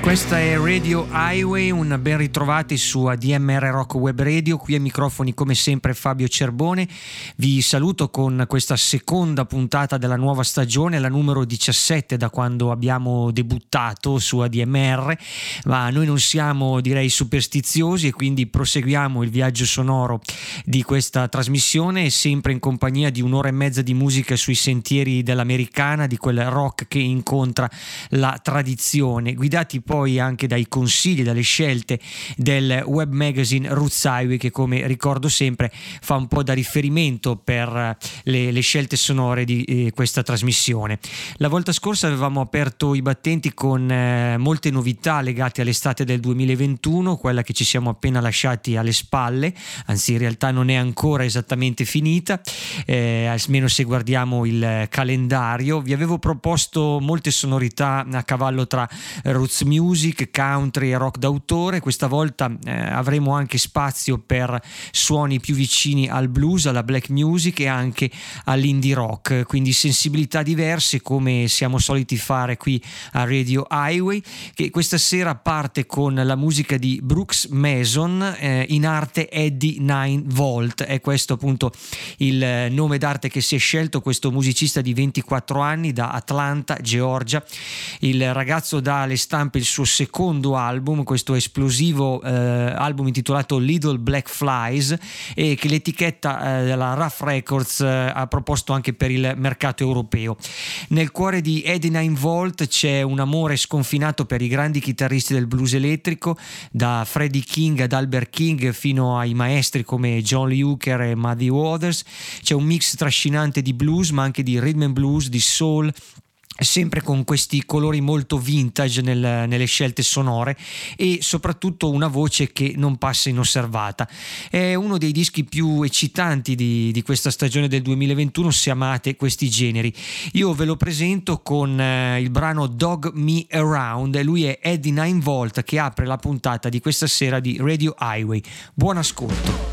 Questa è Radio Highway, un ben ritrovati su ADMR Rock Web Radio. Qui ai microfoni come sempre Fabio Cerbone. Vi saluto con questa seconda puntata della nuova stagione, la numero 17 da quando abbiamo debuttato su ADMR, ma noi non siamo, direi, superstiziosi e quindi proseguiamo il viaggio sonoro di questa trasmissione, sempre in compagnia di un'ora e mezza di musica sui sentieri dell'americana, di quel rock che incontra la tradizione, guidati poi anche dai consigli, dalle scelte del web magazine Roots Highway, che come ricordo sempre fa un po' da riferimento per le scelte sonore di questa trasmissione. La volta scorsa avevamo aperto i battenti con molte novità legate all'estate del 2021, quella che ci siamo appena lasciati alle spalle, anzi in realtà non è ancora esattamente finita, almeno se guardiamo il calendario. Vi avevo proposto molte sonorità a cavallo tra roots music, country e rock d'autore. Questa volta avremo anche spazio per suoni più vicini al blues, alla black music e anche all'indie rock, quindi sensibilità diverse come siamo soliti fare qui a Radio Highway, che questa sera parte con la musica di Brooks Mason, in arte Eddie 9 Volt. È questo appunto il nome d'arte che si è scelto, questo musicista di 24 anni da Atlanta, Georgia. Il ragazzo dà alle stampe il suo secondo album, questo esplosivo album intitolato Little Black Flies, e che l'etichetta della Rough Records ha proposto anche per il mercato europeo. Nel cuore di Eddie 9 Volt c'è un amore sconfinato per i grandi chitarristi del blues elettrico, da Freddie King ad Albert King fino ai maestri come John Lee Hooker e Muddy Waters. C'è un mix trascinante di blues ma anche di rhythm and blues, di soul, sempre con questi colori molto vintage nelle scelte sonore e soprattutto una voce che non passa inosservata. È uno dei dischi più eccitanti di questa stagione del 2021 se amate questi generi. Io ve lo presento con il brano Dog Me Around, e lui è Eddie 9 Volt che apre la puntata di questa sera di Radio Highway. Buon ascolto.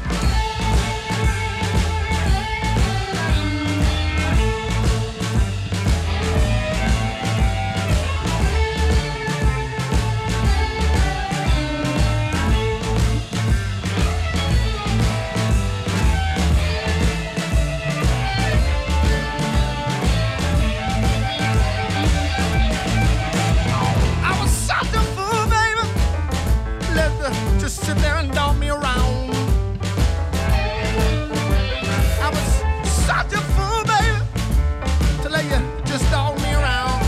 Sit there and dog me around. I was such a fool, baby, to let you just dog me around.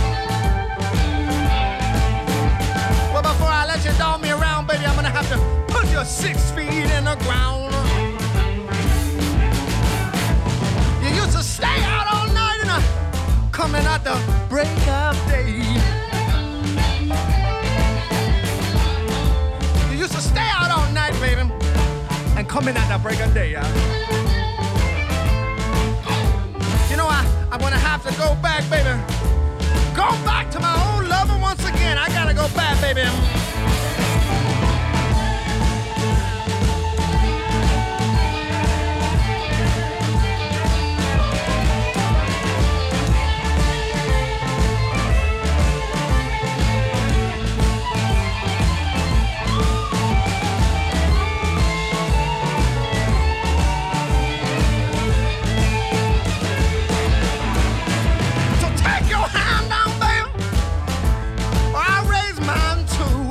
Well, before I let you dog me around, baby, I'm gonna have to put you 6 feet in the ground. You used to stay out all night and coming at the break of day. Stay out all night, baby, and come in at the break of day. You know, I'm gonna have to go back, baby. Go back to my old lover once again. I gotta go back, baby. Hand down, baby, or I raise mine too.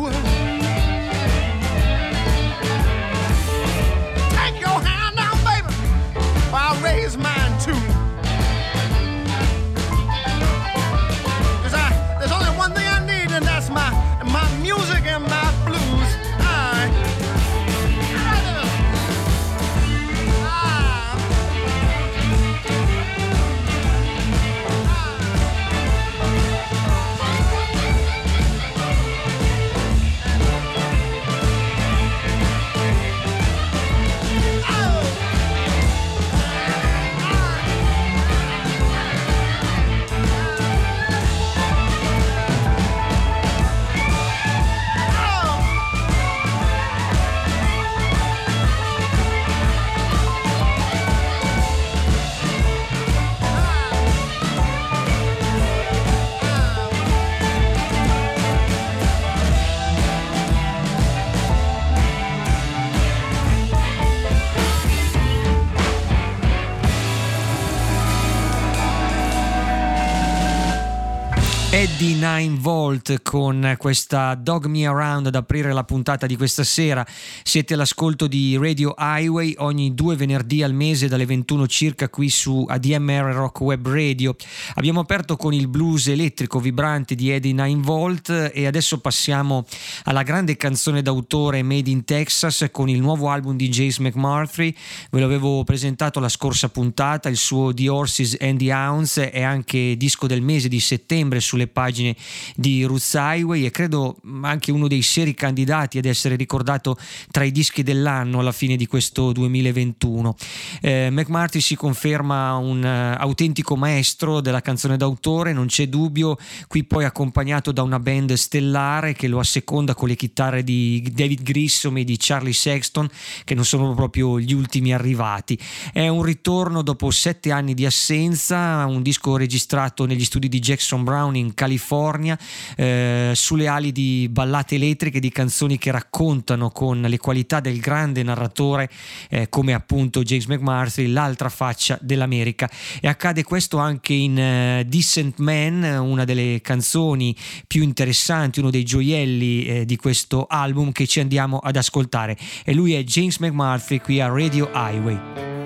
Eddie 9V con questa Dog Me Around ad aprire la puntata di questa sera. Siete all'ascolto di Radio Highway ogni 2 venerdì al mese dalle 21 circa qui su ADMR Rock Web Radio. Abbiamo aperto con il blues elettrico vibrante di Eddie 9V e adesso passiamo alla grande canzone d'autore Made in Texas con il nuovo album di James McMurtry. Ve lo avevo presentato la scorsa puntata, il suo The Horses and the Hounds è anche disco del mese di settembre sulle pagine di Roots Highway e credo anche uno dei seri candidati ad essere ricordato tra i dischi dell'anno alla fine di questo 2021. McMurtry si conferma un autentico maestro della canzone d'autore, non c'è dubbio, qui poi accompagnato da una band stellare che lo asseconda con le chitarre di David Grissom e di Charlie Sexton, che non sono proprio gli ultimi arrivati. È un ritorno dopo 7 anni di assenza, un disco registrato negli studi di Jackson Browne in California, sulle ali di ballate elettriche, di canzoni che raccontano con le qualità del grande narratore come appunto James McMurtry l'altra faccia dell'America. E accade questo anche in Decent Man, una delle canzoni più interessanti, uno dei gioielli di questo album che ci andiamo ad ascoltare, e lui è James McMurtry qui a Radio Highway.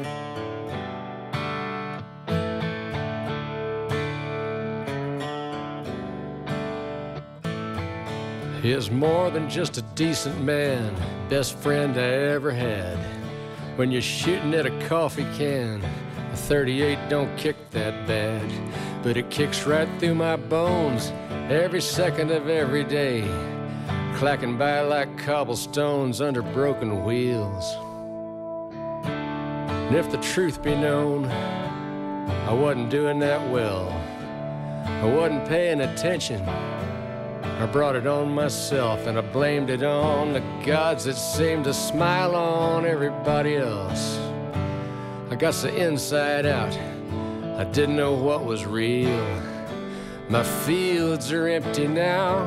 He is more than just a decent man, best friend I ever had. When you're shooting at a coffee can, a 38 don't kick that bad, but it kicks right through my bones every second of every day, clacking by like cobblestones under broken wheels. And if the truth be known, I wasn't doing that well. I wasn't paying attention. I brought it on myself and I blamed it on the gods that seemed to smile on everybody else. I got so inside out, I didn't know what was real. My fields are empty now.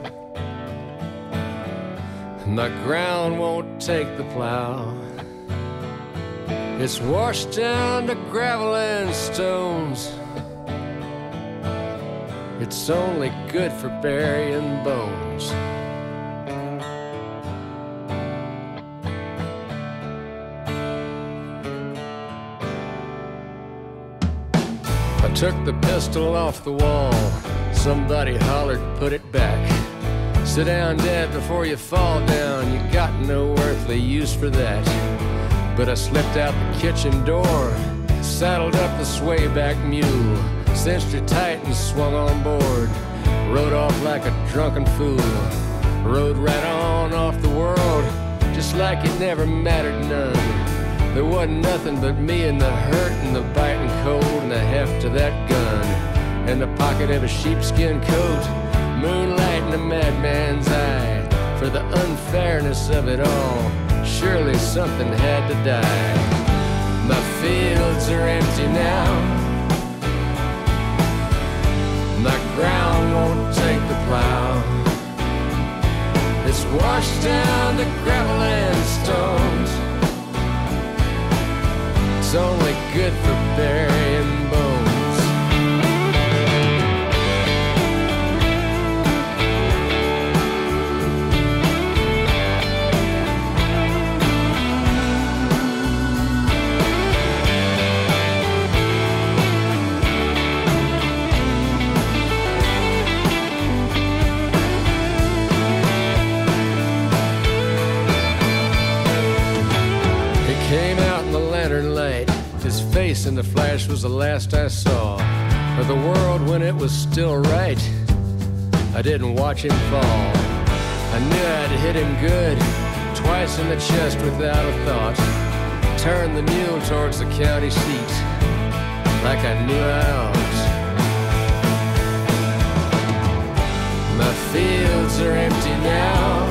My ground won't take the plow. It's washed down to gravel and stones. It's only good for burying bones. I took the pistol off the wall. Somebody hollered, put it back. Sit down, Dad, before you fall down. You got no earthly use for that. But I slipped out the kitchen door, saddled up the swayback mule, cinched her tight and swung on board, rode off like a drunken fool, rode right on off the world, just like it never mattered none. There wasn't nothing but me and the hurt and the biting cold and the heft of that gun, and the pocket of a sheepskin coat, moonlight in a madman's eye. For the unfairness of it all, surely something had to die. My fields are empty now. My ground won't take the plow. It's washed down to gravel and stones. It's only good for burying bones. Face in the flash was the last I saw of the world when it was still right. I didn't watch him fall. I knew I'd hit him good, twice in the chest without a thought. Turned the mule towards the county seat, like I knew I ought. My fields are empty now.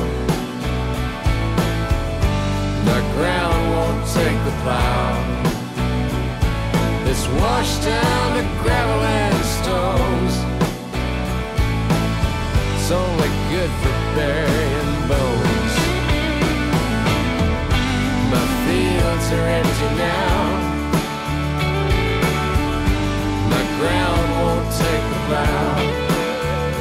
My ground won't take the plow. It's washed down to gravel and stones. It's only good for burying bones. My fields are empty now. My ground won't take the plow.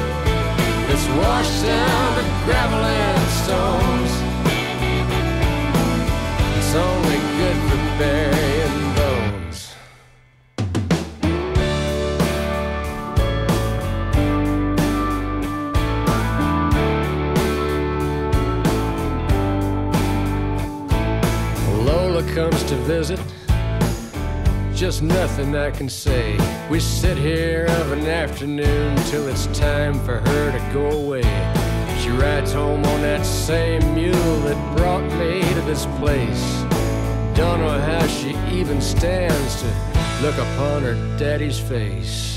fella comes to visit, just nothing I can say. We sit here of an afternoon till it's time for her to go away. She rides home on that same mule that brought me to this place. Don't know how she even stands to look upon her daddy's face.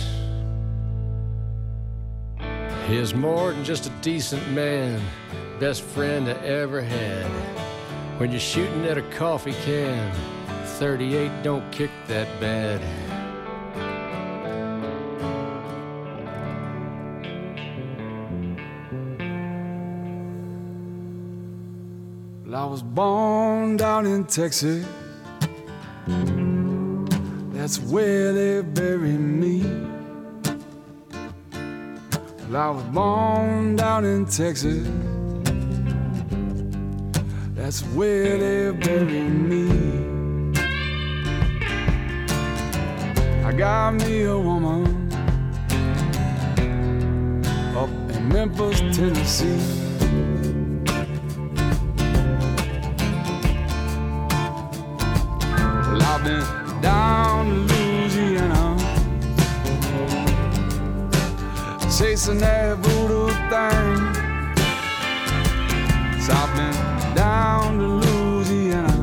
He's more than just a decent man, best friend I ever had. When you're shooting at a coffee can, 38 don't kick that bad. Well, I was born down in Texas. That's where they buried me. Well, I was born down in Texas. That's where they buried me. I got me a woman up in Memphis, Tennessee. Well, I've been down to Louisiana, chasing that voodoo thing. So I've been down to Louisiana,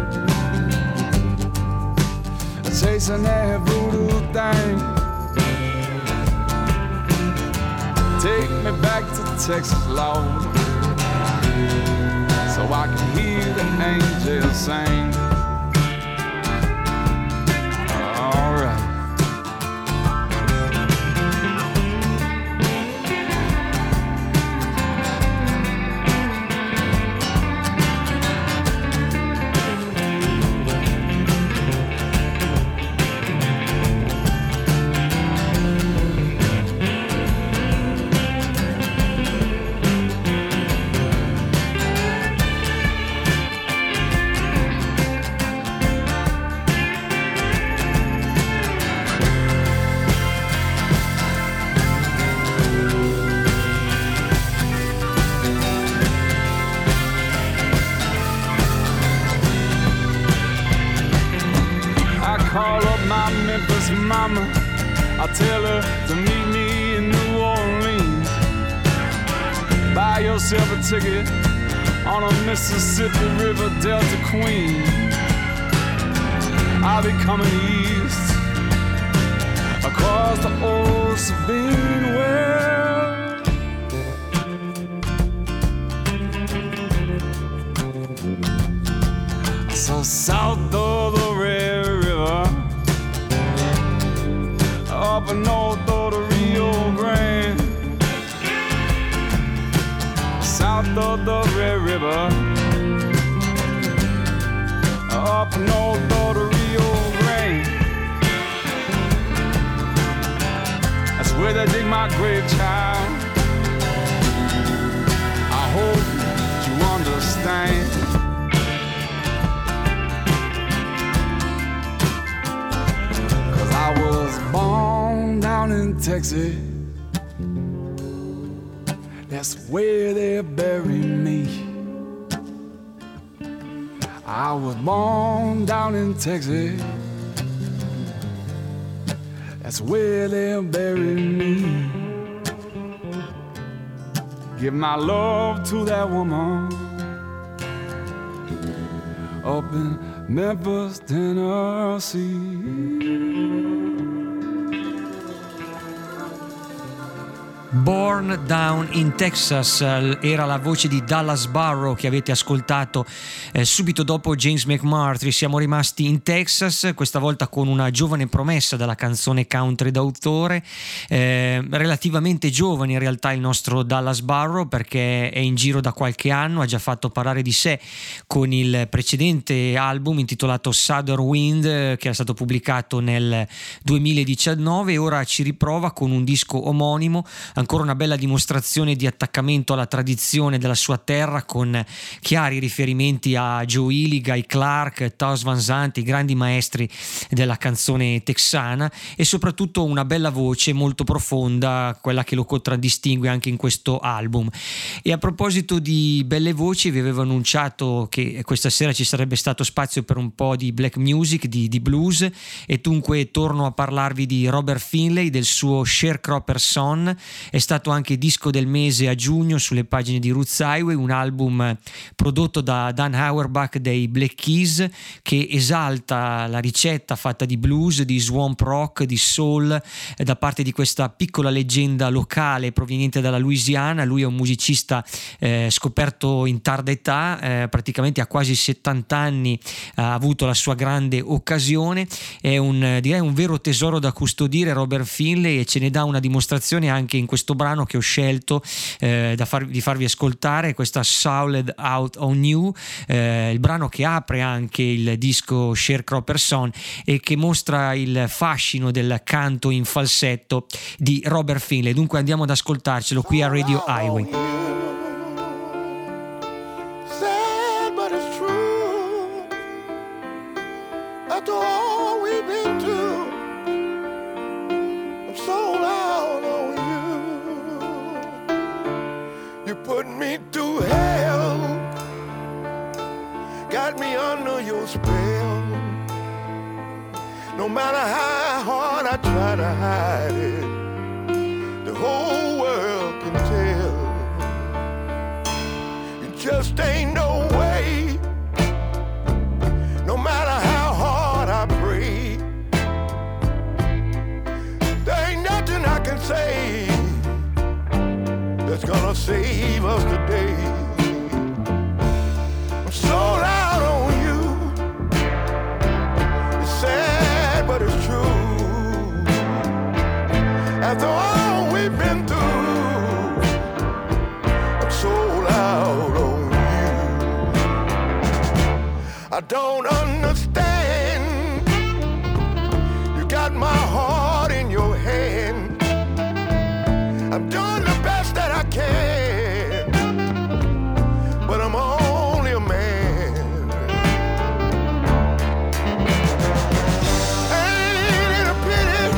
chasing that voodoo thing. Take me back to Texas, Lord, so I can hear the angels sing. All right. Mama, I tell her to meet me in New Orleans. Buy yourself a ticket on a Mississippi River Delta Queen. I'll be coming east across the old Sabine Well. So south of the Red River, up north of the Rio Grande, south of the Red River, up north of the Rio Grande. That's where they dig my grave, child. I hope you understand. I was born down in Texas. That's where they buried me. I was born down in Texas. That's where they buried me. Give my love to that woman up in Memphis, Tennessee. Born Down in Texas era la voce di Dallas Barrow che avete ascoltato subito dopo James McMurtry. Siamo rimasti in Texas, questa volta con una giovane promessa della canzone country d'autore, relativamente giovane in realtà il nostro Dallas Barrow, perché è in giro da qualche anno, ha già fatto parlare di sé con il precedente album intitolato Southern Wind, che è stato pubblicato nel 2019, e ora ci riprova con un disco omonimo ancora una bella dimostrazione di attaccamento alla tradizione della sua terra, con chiari riferimenti a Joe Ely, Guy Clark, Townes Van Zandt, i grandi maestri della canzone texana, e soprattutto una bella voce molto profonda, quella che lo contraddistingue anche in questo album. E a proposito di belle voci, vi avevo annunciato che questa sera ci sarebbe stato spazio per un po' di black music, di blues, e dunque torno a parlarvi di Robert Finlay, del suo Sharecropper Son. È stato anche disco del mese a giugno sulle pagine di Roots Highway, un album prodotto da Dan Auerbach dei Black Keys, che esalta la ricetta fatta di blues, di swamp rock, di soul da parte di questa piccola leggenda locale proveniente dalla Louisiana. Lui è un musicista scoperto in tarda età, praticamente a quasi 70 anni ha avuto la sua grande occasione. È direi un vero tesoro da custodire Robert Finlay, e ce ne dà una dimostrazione anche in questo brano che ho scelto di farvi ascoltare, questa Souled Out on You, il brano che apre anche il disco Sharecropper Son e che mostra il fascino del canto in falsetto di Robert Finlay. Dunque andiamo ad ascoltarcelo qui a Radio Highway. Sad, but it's true. After all we've been through, I'm sold out on you. You put me through hell, got me under your spell. No matter how hard I try to hide it, the whole world can tell. It just ain't no way, no matter how hard I pray. There ain't nothing I can say that's gonna save us today. I'm sold out on you. It's sad, but it's true. After all we've been through, I'm sold out on you. I don't understand. You got my heart in your hand. I'm doing the best that I can, but I'm only a man. Ain't it a pity?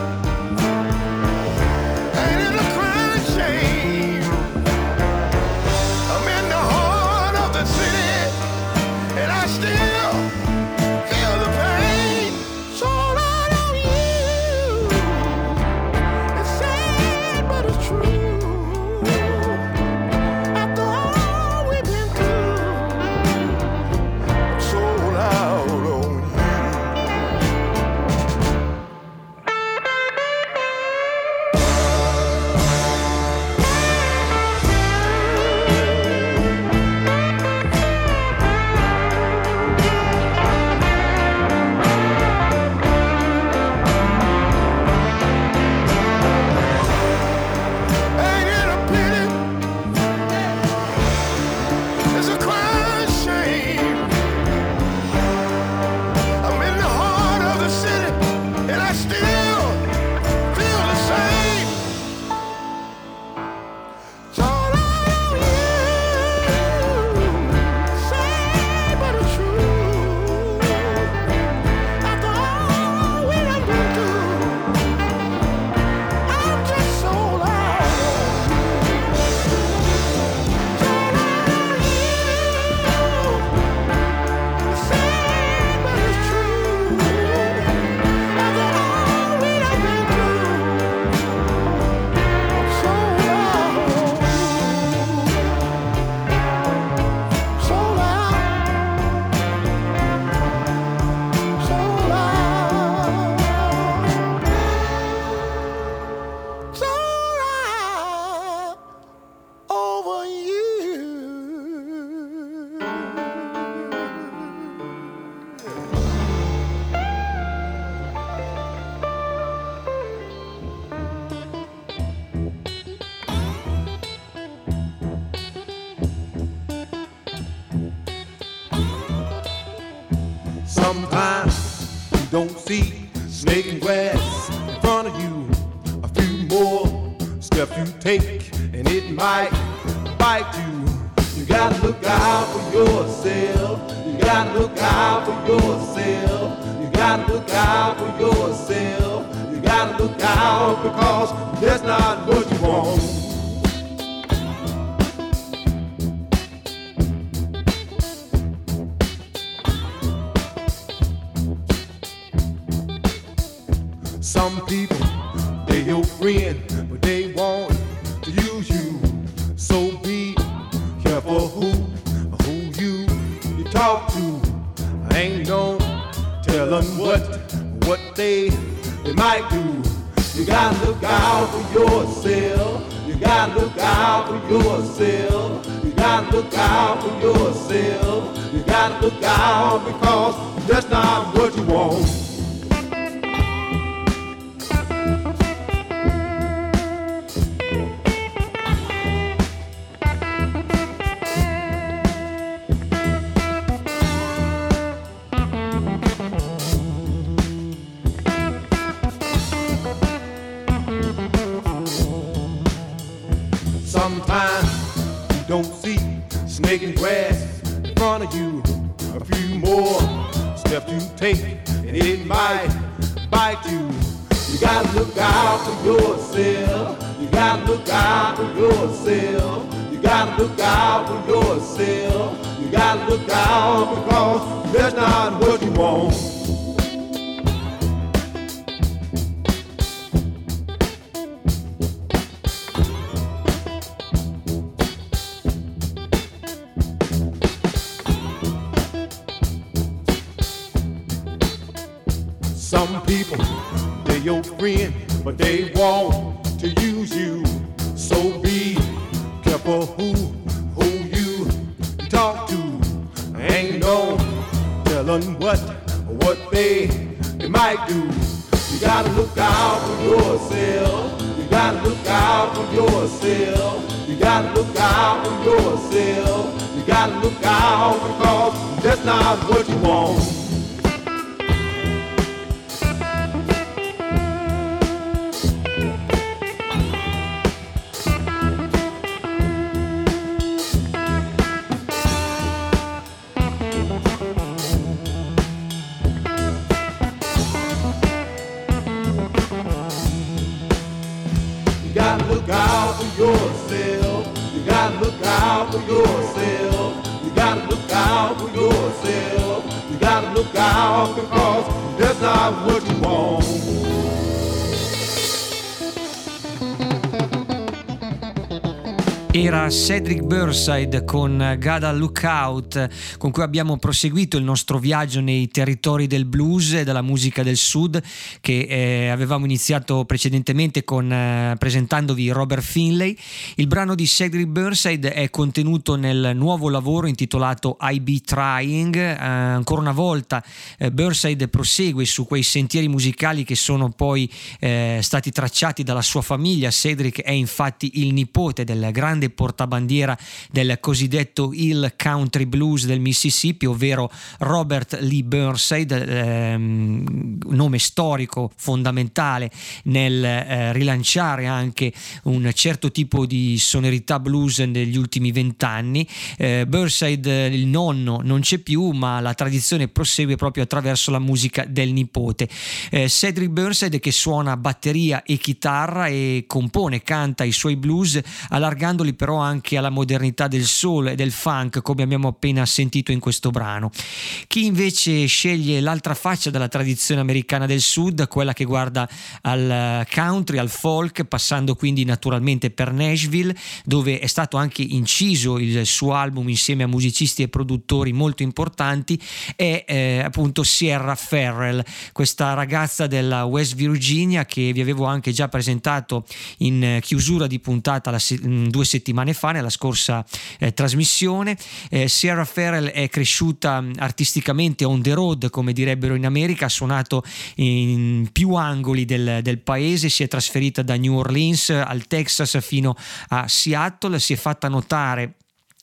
Ain't it a crying shame? I'm in the heart of the city, and I still feel the pain. Sold out on you. It's sad, but it's true. After all we've been through, I'm sold out on you. Ain't it a pity? It's a crying shame. I'm in the heart of the city, and I still feel the same. Sold out on you. Sad, but it's true. After all we done been through, I'm just sold out on you. Sold out on you. Sad, but it's true. After all we done been through, I'm sold out on you. Sold out. Sold out. Sold out over you. Sometimes you don't see snake and grass in front of you. A few more steps you take, and it might bite you. You gotta look out for yourself. You gotta look out for yourself. You gotta look out for yourself. You gotta look out because that's not what you want. Some people, they're your friend, but they want to use you. So be careful who you talk to. I ain't no telling what they might do. You gotta look out for yourself. You gotta look out for yourself. You gotta look out for yourself. You gotta look out because that's not what you want. Sometimes you don't see snake and grass in front of you. A few more steps you take and it might bite you. You gotta look out for yourself. You gotta look out for yourself. You gotta look out for yourself. You gotta look out because that's not what you want. Some people, they're your friend, but they want to use you. So be careful who you talk to. Ain't no telling what they might do. You gotta look out for yourself. You gotta look out for yourself. You gotta look out for yourself. You gotta look out because that's not what you want. You gotta look out for yourself. You gotta look out for yourself. You gotta look out for yourself. You gotta look out because that's not what you want. Era Cedric Burnside con Gotta Look Out, con cui abbiamo proseguito il nostro viaggio nei territori del blues e della musica del sud, che avevamo iniziato precedentemente con presentandovi Robert Finlay. Il brano di Cedric Burnside è contenuto nel nuovo lavoro intitolato I Be Trying. Ancora una volta Burnside prosegue su quei sentieri musicali che sono poi stati tracciati dalla sua famiglia. Cedric è infatti il nipote del grande portabandiera del cosiddetto Hill Country Blues del Mississippi, ovvero Robert Lee Burnside, nome storico fondamentale nel rilanciare anche un certo tipo di sonorità blues negli ultimi 20 anni. Burnside, il nonno, non c'è più, ma la tradizione prosegue proprio attraverso la musica del nipote. Cedric Burnside, che suona batteria e chitarra e compone, canta i suoi blues allargandoli però anche alla modernità del soul e del funk, come abbiamo appena sentito in questo brano. Chi invece sceglie l'altra faccia della tradizione americana del sud, quella che guarda al country, al folk, passando quindi naturalmente per Nashville, dove è stato anche inciso il suo album insieme a musicisti e produttori molto importanti, è appunto Sierra Farrell, questa ragazza della West Virginia che vi avevo anche già presentato in chiusura di puntata 2 settimane fa nella scorsa trasmissione. Sierra Farrell è cresciuta artisticamente on the road, come direbbero in America, ha suonato in più angoli del paese, si è trasferita da New Orleans al Texas fino a Seattle, si è fatta notare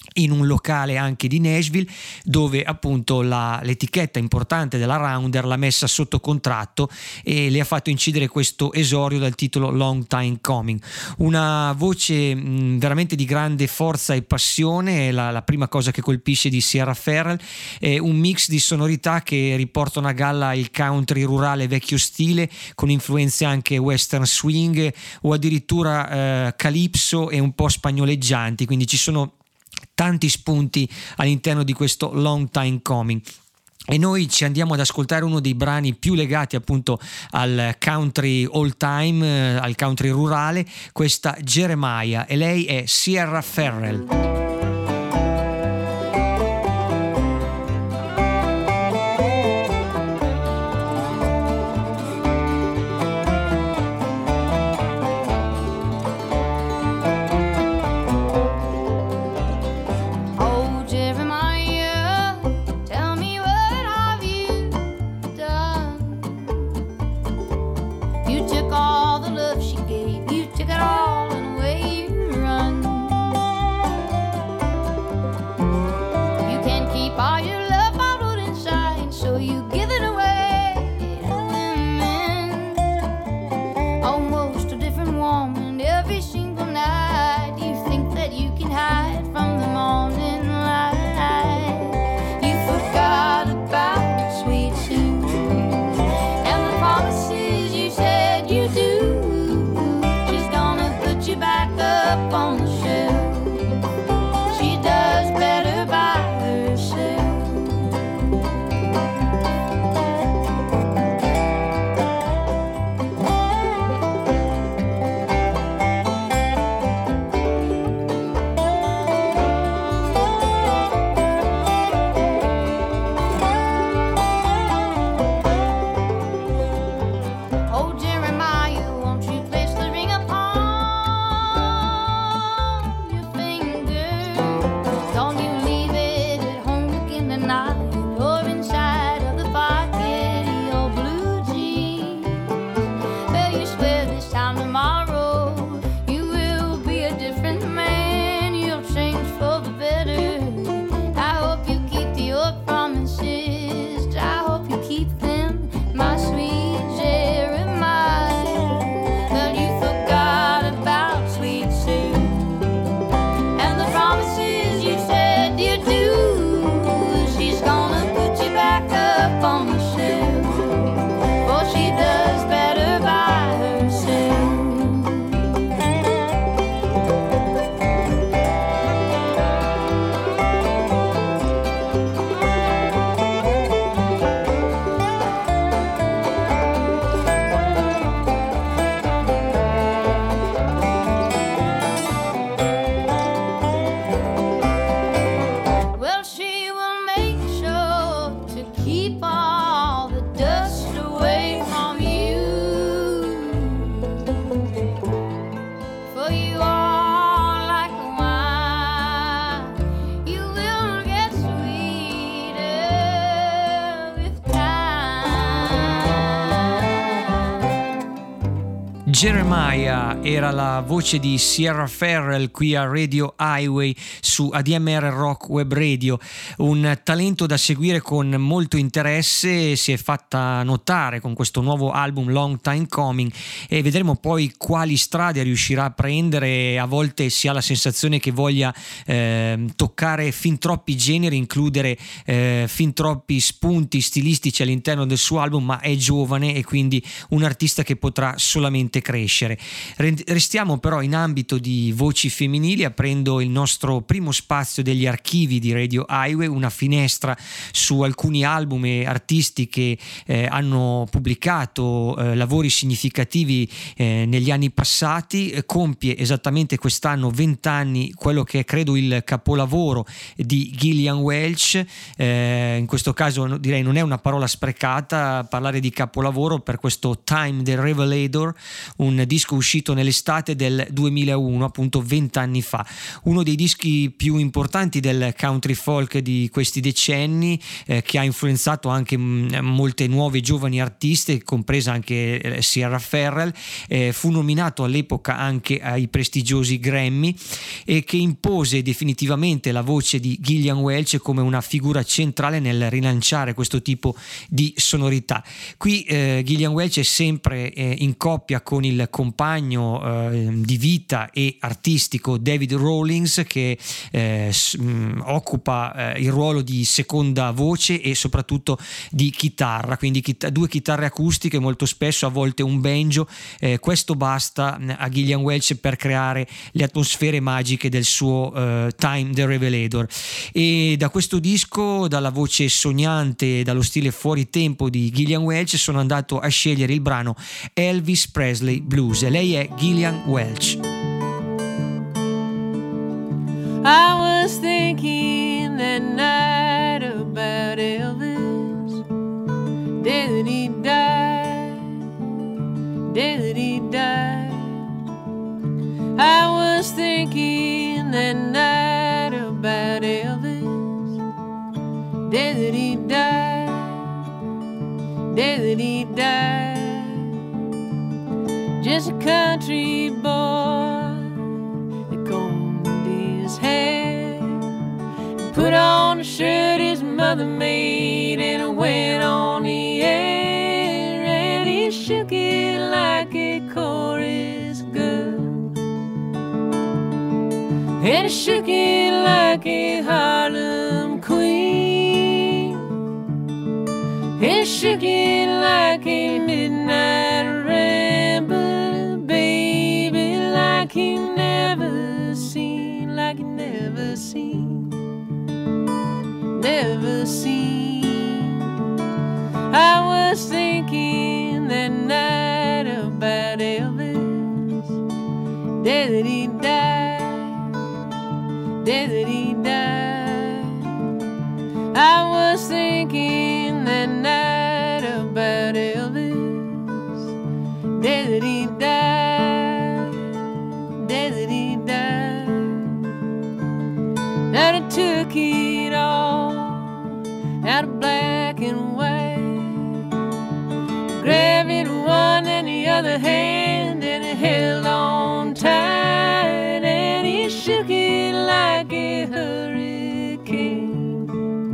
in un locale anche di Nashville, dove appunto l'etichetta importante della Rounder l'ha messa sotto contratto e le ha fatto incidere questo esordio dal titolo Long Time Coming. Una voce veramente di grande forza e passione, la prima cosa che colpisce di Sierra Ferrell è un mix di sonorità che riportano a galla il country rurale vecchio stile, con influenze anche western swing o addirittura calypso e un po' spagnoleggianti, quindi ci sono tanti spunti all'interno di questo Long Time Coming. E noi ci andiamo ad ascoltare uno dei brani più legati appunto al country all time, al country rurale, questa Jeremiah, e lei è Sierra Ferrell. Jeremiah era la voce di Sierra Ferrell qui a Radio Highway su ADMR Rock Web Radio, un talento da seguire con molto interesse. Si è fatta notare con questo nuovo album Long Time Coming e vedremo poi quali strade riuscirà a prendere. A volte si ha la sensazione che voglia toccare fin troppi generi, includere fin troppi spunti stilistici all'interno del suo album, ma è giovane e quindi un artista che potrà solamente crescere. Restiamo però in ambito di voci femminili, aprendo il nostro primo spazio degli archivi di Radio Highway, una finestra su alcuni album e artisti che hanno pubblicato lavori significativi negli anni passati. Compie esattamente quest'anno 20 anni quello che è credo il capolavoro di Gillian Welch. In questo caso direi non è una parola sprecata parlare di capolavoro per questo Time the Revelator, un disco uscito nell'estate del 2001, appunto 20 anni fa, uno dei dischi più importanti del country folk di questi decenni, che ha influenzato anche molte nuove giovani artiste, compresa anche Sierra Ferrell. Fu nominato all'epoca anche ai prestigiosi Grammy, e che impose definitivamente la voce di Gillian Welch come una figura centrale nel rilanciare questo tipo di sonorità. Qui Gillian Welch è sempre in coppia con il compagno di vita e artistico David Rawlings, che occupa il ruolo di seconda voce e soprattutto di chitarra, quindi due chitarre acustiche, molto spesso a volte un banjo. Questo basta a Gillian Welch per creare le atmosfere magiche del suo Time the Revelator. E da questo disco, dalla voce sognante, dallo stile fuori tempo di Gillian Welch, sono andato a scegliere il brano Elvis Presley Blues. Lei è Gillian Welch. I was thinking that night about Elvis, day that he died, day that he died. I was thinking that night about Elvis, day that he died, day that he died. Just a country boy that combed his hair, put on a shirt his mother made, and went on the air, and he shook it like a chorus girl, and he shook it like a Harlem queen, and he shook it like a midnight ramble, baby, like he never seen, like he never seen, never seen. I was thinking that night about Elvis, day that he died, day that he died. I was thinking that night about Elvis, day that he died, day that he died. Now they took it all out of black and white, grabbed it one and the other hand, and he held on tight, and he shook it like a hurricane.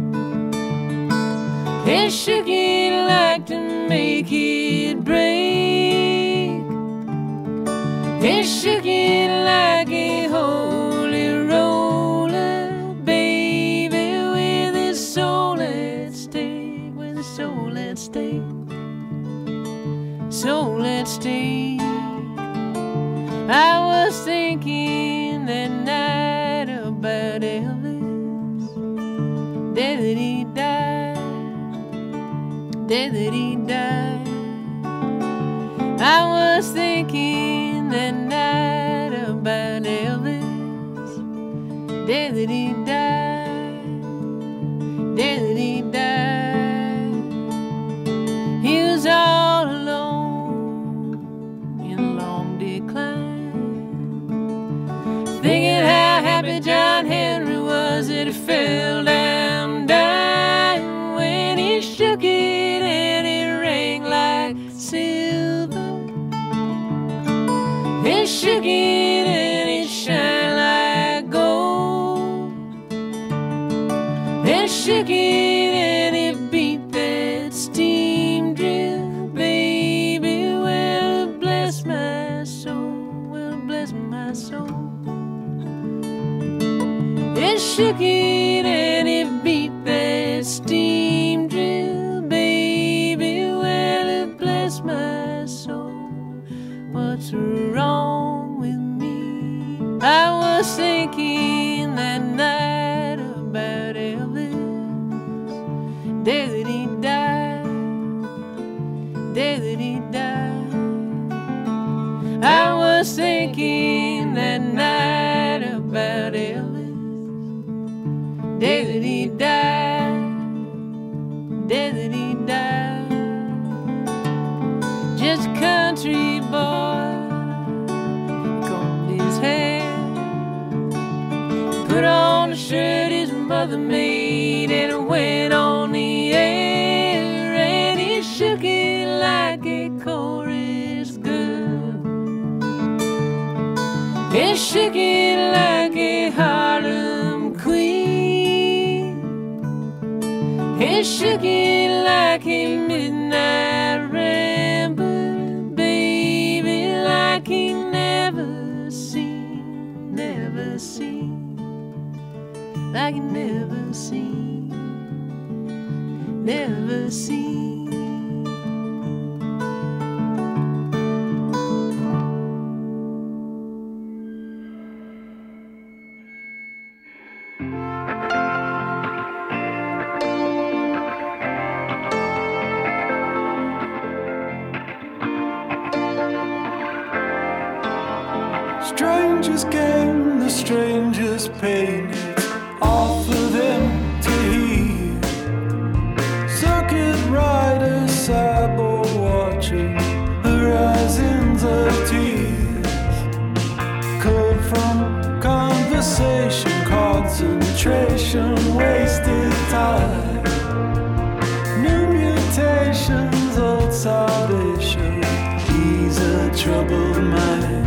He shook it like to make it break. He shook it like a holy roller, baby, with his soul at stake, with his soul at stake, soul at stake. I was thinking that night about Elvis, day that he died, day that he died. I was thinking that night about Elvis, day that he died, day that he died. He was all alone in a long decline, thinking how happy John Henry was that he fell down dying, when he shook it and it rang like silver. He shook it and it shined like gold. He shook it and it beat that steam drill, baby. Well, bless my soul, well, bless my soul. It shook it and it beat that steam drill, baby. Well, it bless my soul. What's wrong with me? I was thinking that night about Elvis, day that he died, day that he died. I was thinking that night about Elvis, day that he died, day that he died. Just a country boy mother made, and it went on the air, and he shook it like a chorus girl. He shook it like a Harlem queen. He shook it like a midnight rambler, baby, like he never seen, like he never seen, never seen. Strangers gain, the strangers pain. It's all for them to hear. Circuit riders, cyborg watching horizons of tears. Code from conversation, concentration, wasted time. New mutations, old salvation, ease a troubled mind.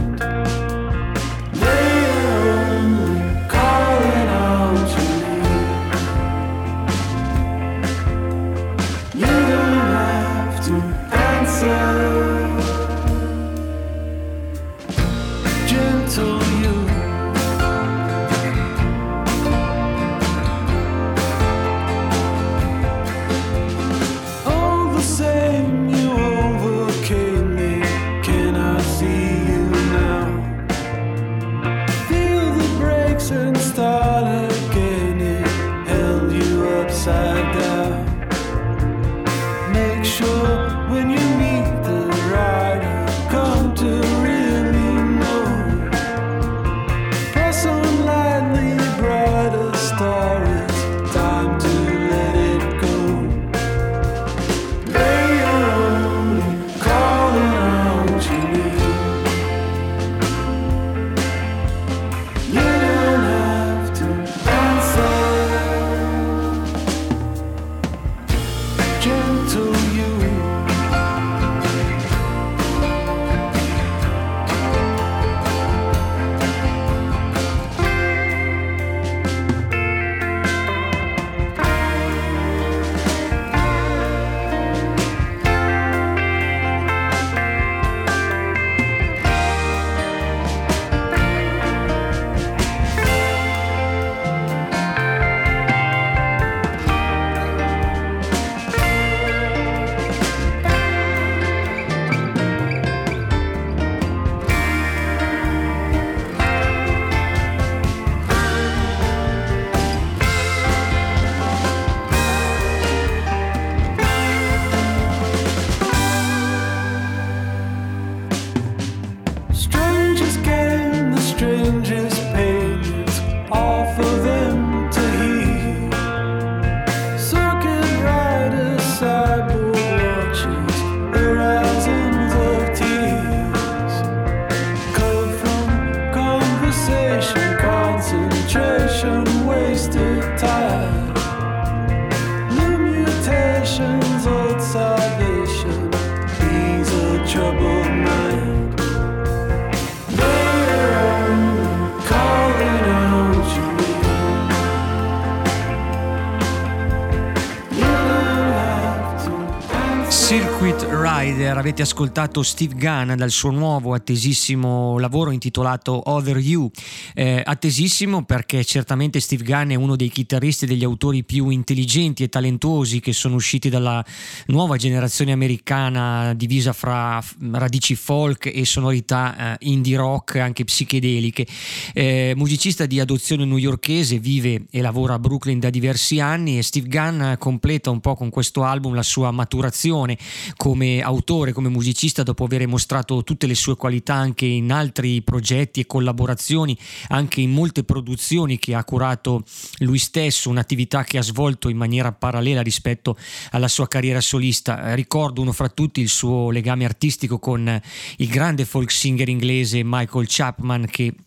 Avete ascoltato Steve Gunn dal suo nuovo attesissimo lavoro intitolato Over You, attesissimo perché certamente Steve Gunn è uno dei chitarristi e degli autori più intelligenti e talentuosi che sono usciti dalla nuova generazione americana, divisa fra radici folk e sonorità indie rock anche psichedeliche. Musicista di adozione newyorkese, vive e lavora a Brooklyn da diversi anni, e Steve Gunn completa un po' con questo album la sua maturazione come autore, come musicista, dopo aver mostrato tutte le sue qualità anche in altri progetti e collaborazioni, anche in molte produzioni che ha curato lui stesso, un'attività che ha svolto in maniera parallela rispetto alla sua carriera solista. Ricordo uno fra tutti il suo legame artistico con il grande folk singer inglese Michael Chapman, che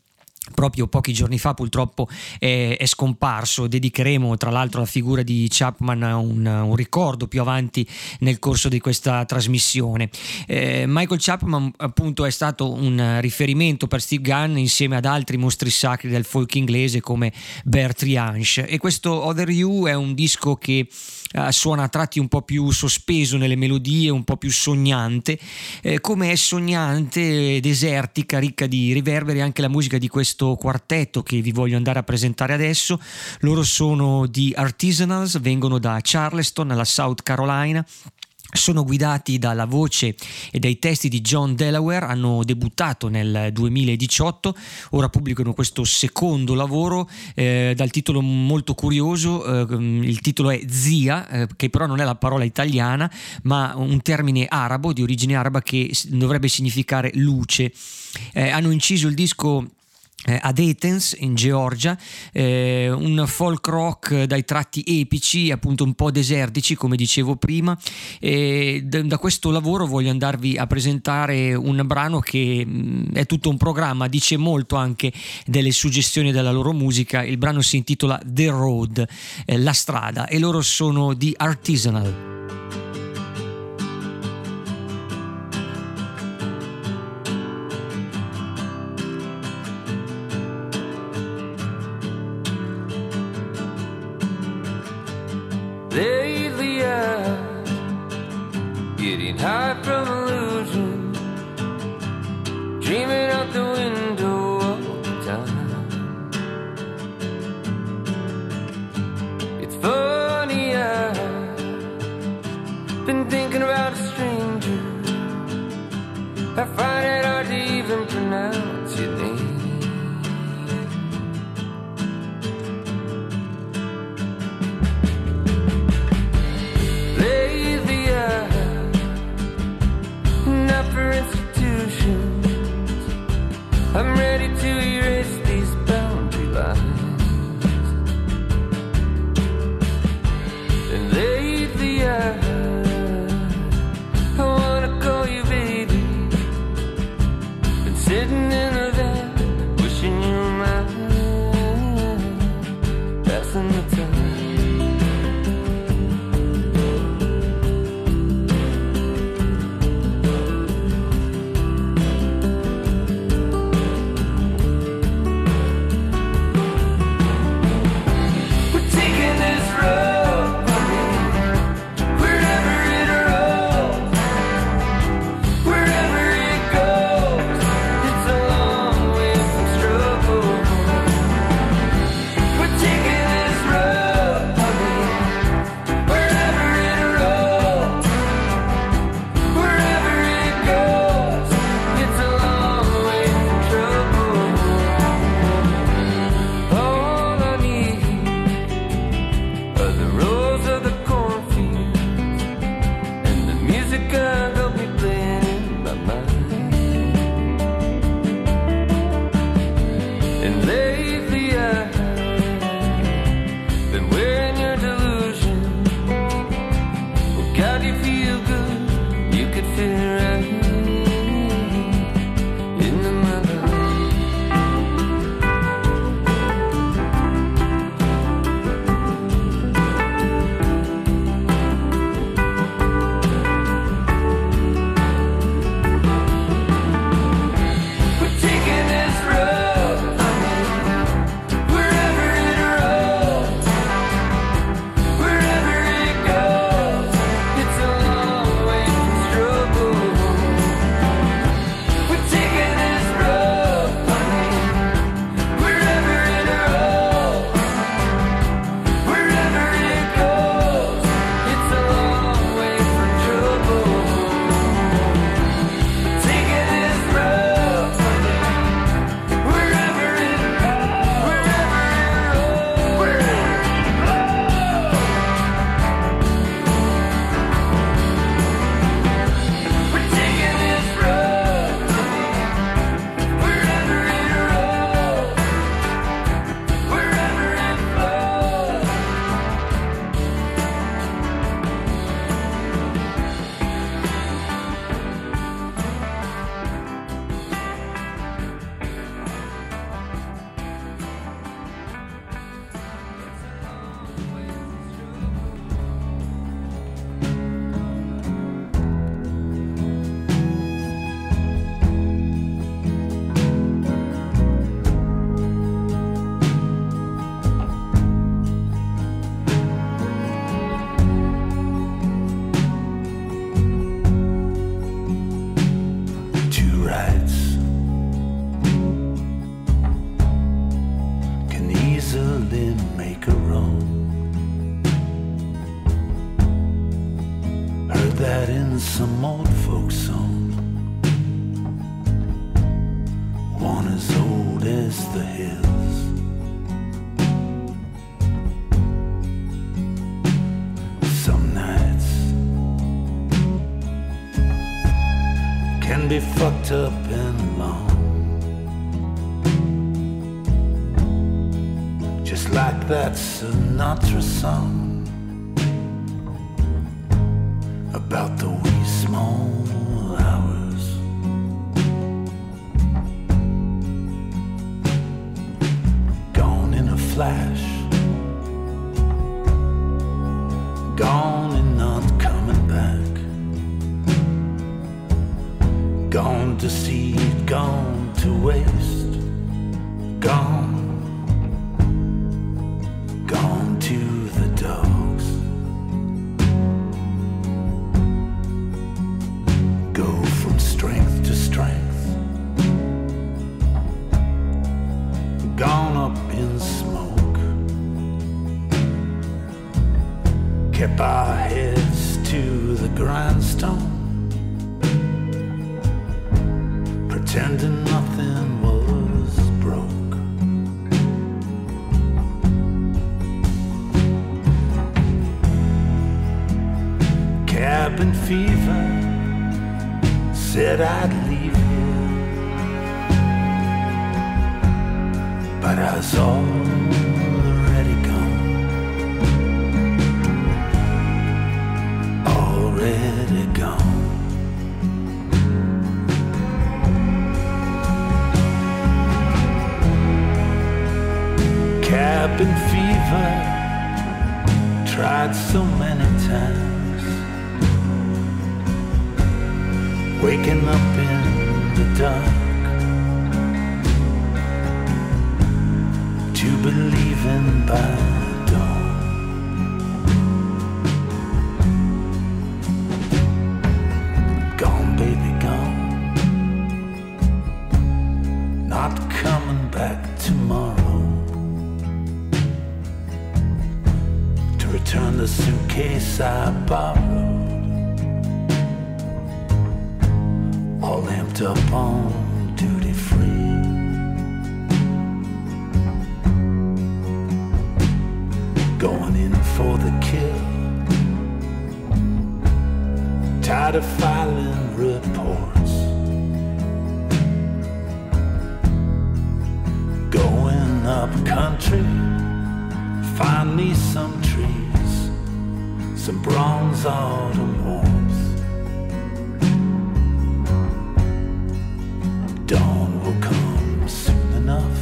proprio pochi giorni fa purtroppo è scomparso. Dedicheremo tra l'altro alla figura di Chapman un ricordo più avanti nel corso di questa trasmissione. Michael Chapman appunto è stato un riferimento per Steve Gunn insieme ad altri mostri sacri del folk inglese come Bertrand Jansch, e questo Other You è un disco che suona a tratti un po' più sospeso nelle melodie, un po' più sognante, come è sognante, desertica, ricca di riverberi anche la musica di questo quartetto che vi voglio andare a presentare adesso. Loro sono The Artisanals, vengono da Charleston, nella South Carolina. Sono guidati dalla voce e dai testi di John Delaware, hanno debuttato nel 2018, ora pubblicano questo secondo lavoro dal titolo molto curioso. Il titolo è Zia, che però non è la parola italiana ma un termine arabo, di origine araba, che dovrebbe significare luce. Hanno inciso il disco ad Athens in Georgia, un folk rock dai tratti epici, appunto un po' desertici come dicevo prima, e da questo lavoro voglio andarvi a presentare un brano che è tutto un programma, dice molto anche delle suggestioni della loro musica. Il brano si intitola The Road, la strada, e loro sono The Artisanal. Lately I'm getting high from illusion, dreaming out the window all the time. It's funny, I've been thinking about a stranger. I find it hard to even pronounce your name. For institutions, I'm ready to erase these boundary lines. And lately I wanna call you baby, sing some old folk song, one as old as the hills. Some nights can be fucked up and long, just like that Sinatra song about the wee small hours. Gone in a flash, gone and not coming back, gone to seed, gone to waste, gone to the dogs. Go from strength to strength, gone up in smoke, kept our heads to the grindstone, pretending nothing was broke. Cabin fever said I'd leave here, but I was already gone, already gone. Cabin fever tried so many times, waking up in the dark to believing by dawn. Gone, baby, gone, not coming back tomorrow to return the suitcase I borrowed, all amped up on duty free. Going in for the kill, tired of filing reports, going up country, find me some trees, some bronze autumn warmth. Dawn will come soon enough.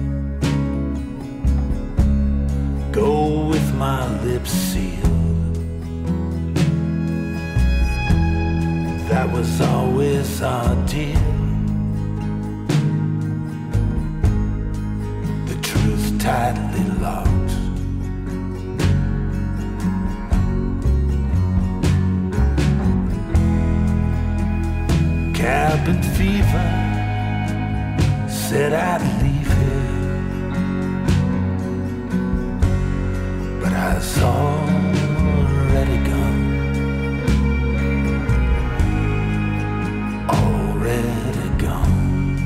Go with my lips sealed. That was always our deal. The truth tightly locked. Cabin fever said I'd leave here, but I was already gone, already gone.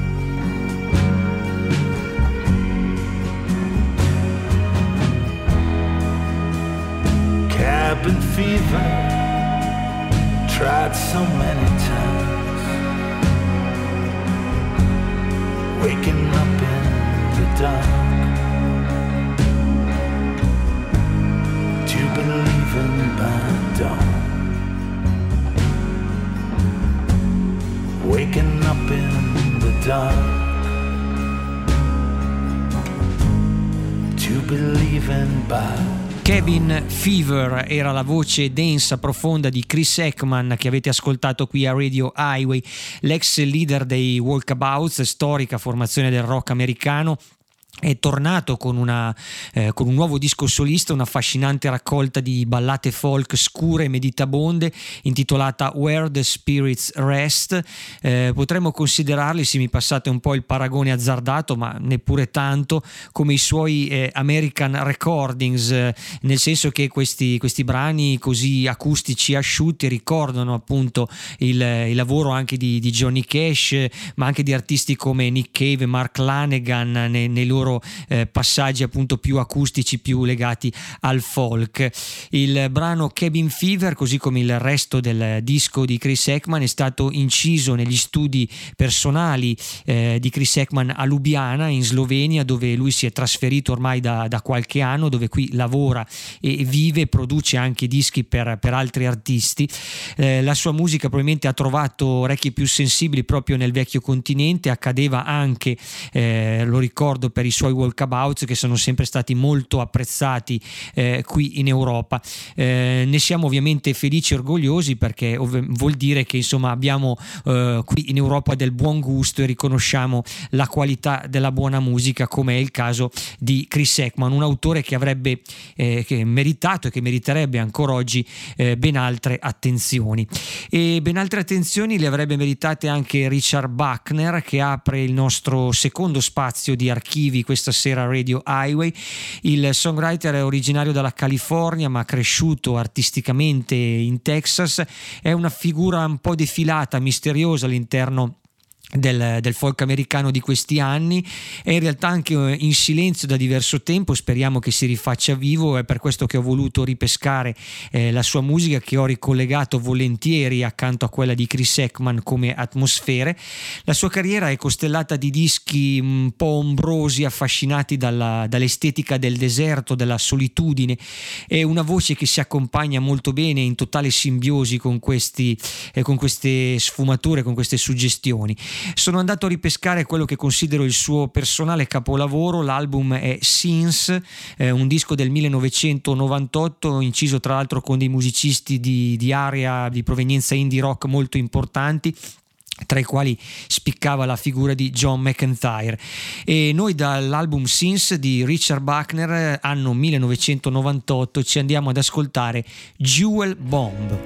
Cabin fever tried so many times, waking up in the dark to believing by dawn, waking up in the dark to believing by. Cabin Fever era la voce densa, profonda di Chris Ekman che avete ascoltato qui a Radio Highway, l'ex leader dei Walkabouts, storica formazione del rock americano è tornato con un nuovo disco solista, un'affascinante raccolta di ballate folk scure e meditabonde intitolata Where the Spirits Rest. Potremmo considerarli, se mi passate un po' il paragone azzardato, ma neppure tanto, come i suoi American Recordings, nel senso che questi brani così acustici e asciutti ricordano appunto il lavoro anche di Johnny Cash, ma anche di artisti come Nick Cave e Mark Lanegan nei loro passaggi appunto più acustici, più legati al folk. Il brano Cabin Fever, così come il resto del disco di Chris Ekman, è stato inciso negli studi personali di Chris Ekman a Lubiana in Slovenia, dove lui si è trasferito ormai da qualche anno, dove qui lavora e vive e produce anche dischi per altri artisti. La sua musica probabilmente ha trovato orecchi più sensibili proprio nel vecchio continente. Accadeva anche, lo ricordo, per i suoi walkabouts, che sono sempre stati molto apprezzati qui in Europa. Ne siamo ovviamente felici e orgogliosi, perché vuol dire che insomma abbiamo qui in Europa del buon gusto e riconosciamo la qualità della buona musica, come è il caso di Chris Ekman, un autore che avrebbe che meritato e che meriterebbe ancora oggi ben altre attenzioni, e ben altre attenzioni le avrebbe meritate anche Richard Buckner, che apre il nostro secondo spazio di archivi questa sera Radio Highway. Il songwriter è originario dalla California, ma cresciuto artisticamente in Texas. È una figura un po' defilata, misteriosa all'interno del folk americano di questi anni. È in realtà anche in silenzio da diverso tempo, speriamo che si rifaccia vivo. È per questo che ho voluto ripescare la sua musica, che ho ricollegato volentieri accanto a quella di Chris Ekman come atmosfere. La sua carriera è costellata di dischi un po' ombrosi, affascinati dall'estetica del deserto, della solitudine, e una voce che si accompagna molto bene in totale simbiosi con queste sfumature, con queste suggestioni. Sono andato a ripescare quello che considero il suo personale capolavoro. L'album è Scenes, un disco del 1998, inciso tra l'altro con dei musicisti di area di provenienza indie rock molto importanti, tra i quali spiccava la figura di John McEntire. E noi dall'album Scenes di Richard Buckner, anno 1998, ci andiamo ad ascoltare Jewel Bomb.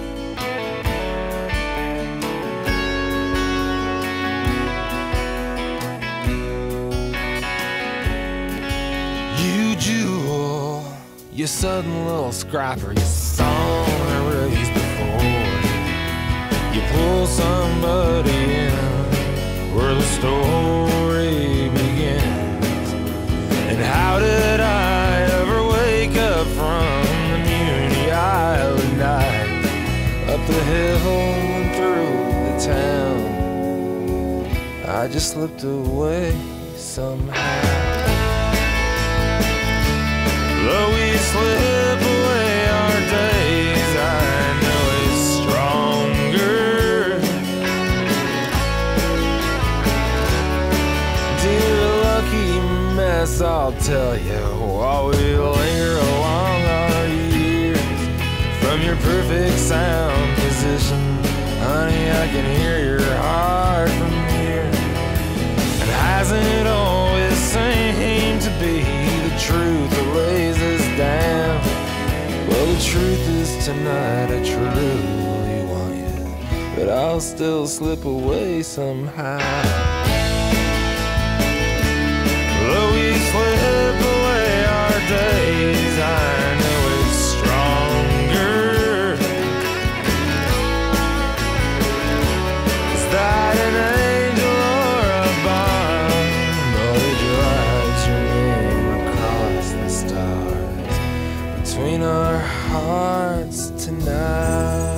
Jewel, you sudden little scrapper, you saw a race before. You pull somebody in where the story begins. And how did I ever wake up from the Muni Island night, up the hill and through the town? I just slipped away somehow. Though we slip away our days, I know it's stronger. Dear lucky mess, I'll tell you, while we linger along our years, from your perfect sound position, honey, I can hear your heart from here. And hasn't it always seemed to be the truth that lays us down? Well, the truth is tonight I truly want you, but I'll still slip away somehow. Though we slip away our days, I know it's stronger. Is that an angel or a bomb? Or did you write your name across the stars between our hearts tonight?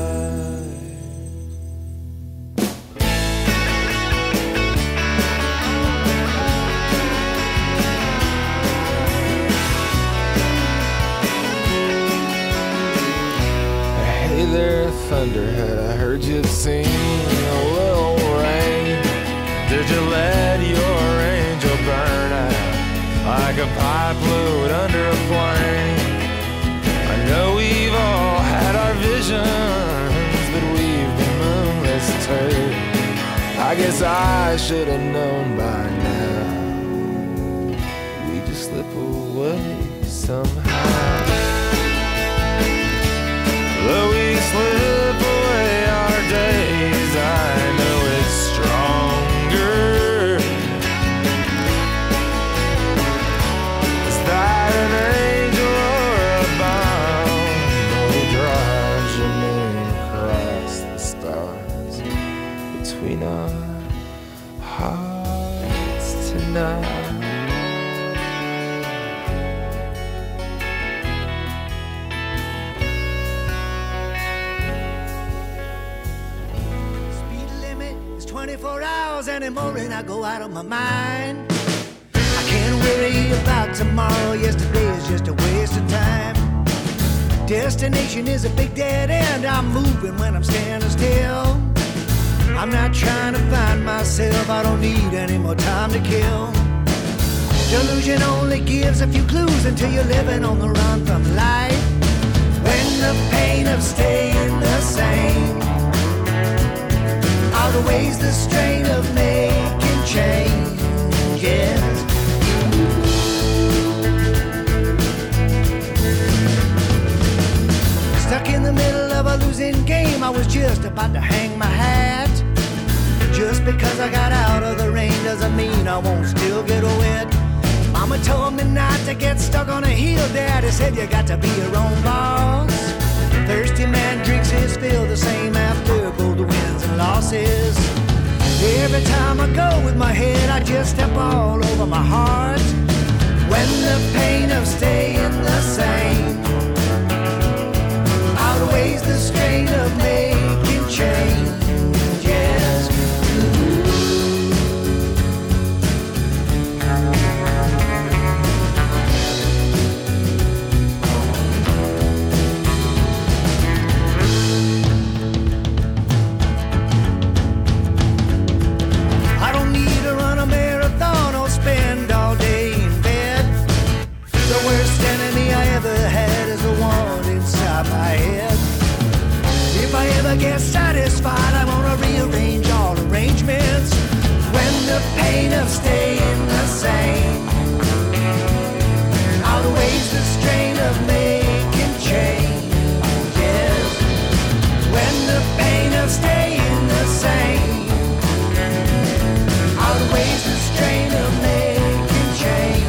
Hey there, Thunderhead, I heard you'd seen a little rain. Did you let your angel burn out like a pipe fluid under a flame? I know we've all had our visions, but we've been moonless too. I guess I should have known by now. somehow. Though we slip away our days, I know it's stronger. Is that an angel or a bomb? No drives your name across the stars between our hearts tonight. Anymore and I go out of my mind. I can't worry about tomorrow. Yesterday is just a waste of time. Destination is a big dead end. I'm moving when I'm standing still. I'm not trying to find myself. I don't need any more time to kill. Delusion only gives a few clues until you're living on the run from life. When the pain of staying the same outweighs the strain of making changes. Stuck in the middle of a losing game, I was just about to hang my hat. Just because I got out of the rain doesn't mean I won't still get wet. Mama told me not to get stuck on a hill. Daddy said you got to be your own boss. Thirsty man drinks his fill, the same after both the wins and losses. Every time I go with my head, I just step all over my heart. When the pain of staying the same outweighs the strain of making changes. Get satisfied, I wanna rearrange all arrangements. When the pain of staying the same outweighs the strain of making changes. When the pain of staying the same outweighs the strain of making changes.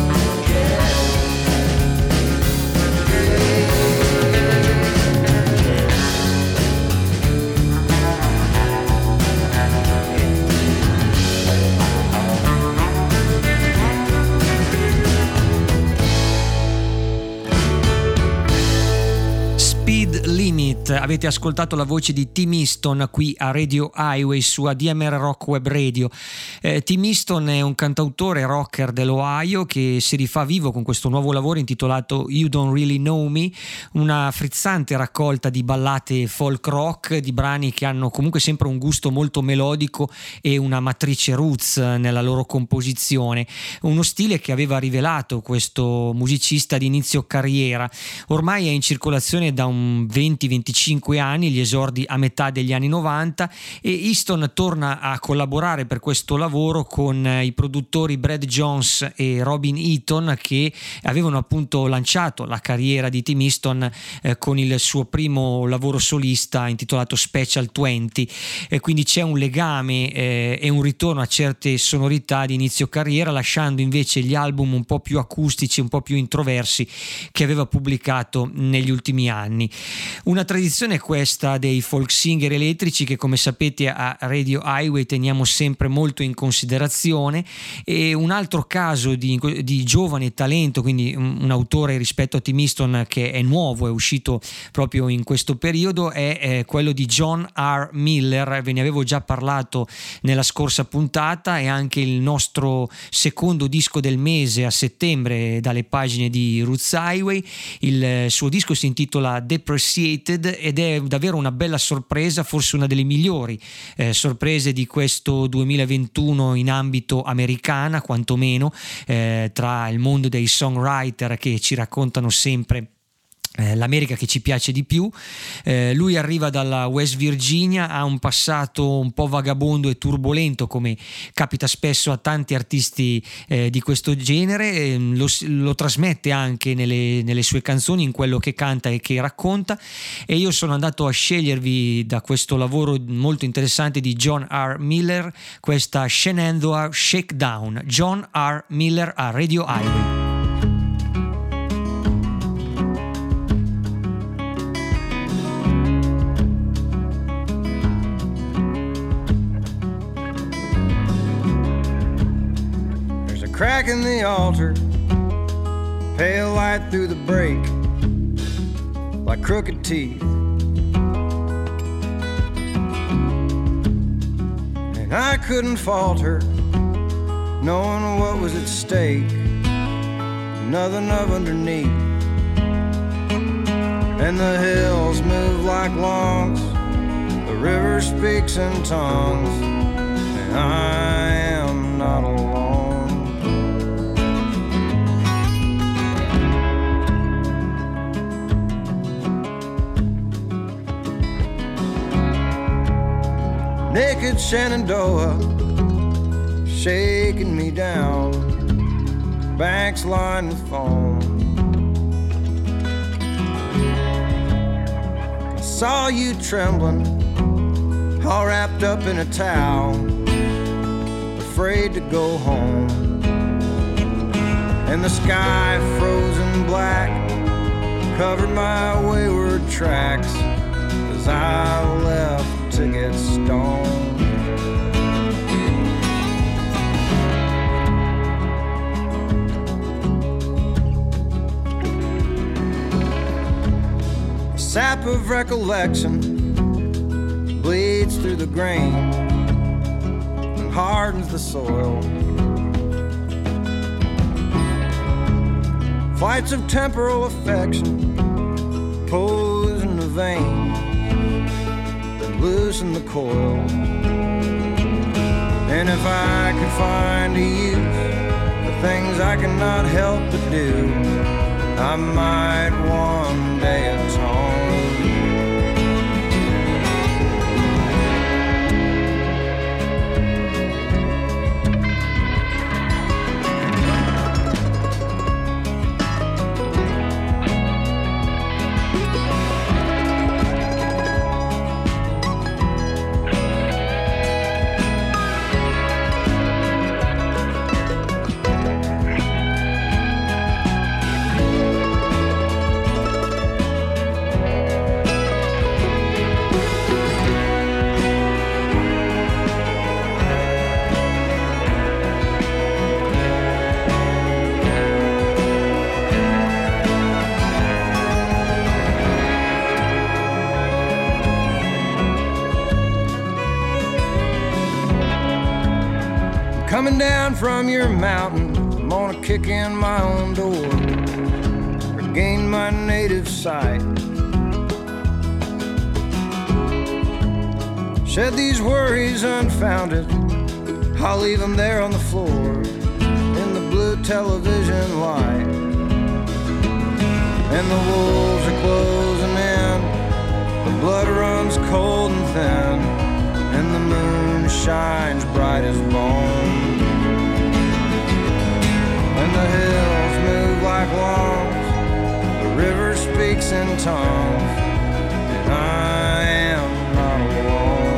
Limit, avete ascoltato la voce di Tim Easton qui a Radio Highway su ADMR Rock Web Radio. Tim Easton è un cantautore rocker dell'Ohio che si rifà vivo con questo nuovo lavoro intitolato You Don't Really Know Me, una frizzante raccolta di ballate folk rock, di brani che hanno comunque sempre un gusto molto melodico e una matrice roots nella loro composizione, uno stile che aveva rivelato questo musicista di inizio carriera. Ormai è in circolazione da un 20-25 anni, gli esordi a metà degli anni 90, e Easton torna a collaborare per questo lavoro con i produttori Brad Jones e Robin Eaton, che avevano appunto lanciato la carriera di Tim Easton con il suo primo lavoro solista intitolato Special 20, e quindi c'è un legame e un ritorno a certe sonorità di inizio carriera, lasciando invece gli album un po' più acustici, un po' più introversi che aveva pubblicato negli ultimi anni. Una tradizione questa dei folk singer elettrici che, come sapete, a Radio Highway teniamo sempre molto in considerazione, e un altro caso di giovane talento, quindi un autore rispetto a Tim Easton che è nuovo, è uscito proprio in questo periodo, è quello di John R. Miller. Ve ne avevo già parlato nella scorsa puntata, è anche il nostro secondo disco del mese a settembre dalle pagine di Roots Highway. Il suo disco si intitola Depreciated ed è davvero una bella sorpresa, forse una delle migliori sorprese di questo 2021 in ambito americana, quantomeno tra il mondo dei songwriter che ci raccontano sempre l'America che ci piace di più. Lui arriva dalla West Virginia, ha un passato un po' vagabondo e turbolento, come capita spesso a tanti artisti di questo genere. Lo trasmette anche nelle sue canzoni, in quello che canta e che racconta, e io sono andato a scegliervi da questo lavoro molto interessante di John R. Miller questa Shenandoah Shakedown. John R. Miller a Radio Highway. Crack in the altar, pale light through the break, like crooked teeth. And I couldn't falter, knowing what was at stake, nothing of underneath. And the hills move like lungs, the river speaks in tongues, and I am not alone. Naked Shenandoah, shaking me down, banks lined with foam. I saw you trembling, all wrapped up in a towel, afraid to go home. And the sky frozen black covered my wayward tracks as I left to get stoned. The sap of recollection bleeds through the grain and hardens the soil. Flights of temporal affection pose in the vein, loosen the coil. And if I could find a use for things I cannot help but do, I might one day atone. Coming down from your mountain, I'm gonna kick in my own door, regain my native sight, shed these worries unfounded, I'll leave them there on the floor, in the blue television light. And the wolves are closing in, the blood runs cold and thin, and the moon shines bright as bone. And the hills move like lungs, the river speaks in tongues, and I am not alone.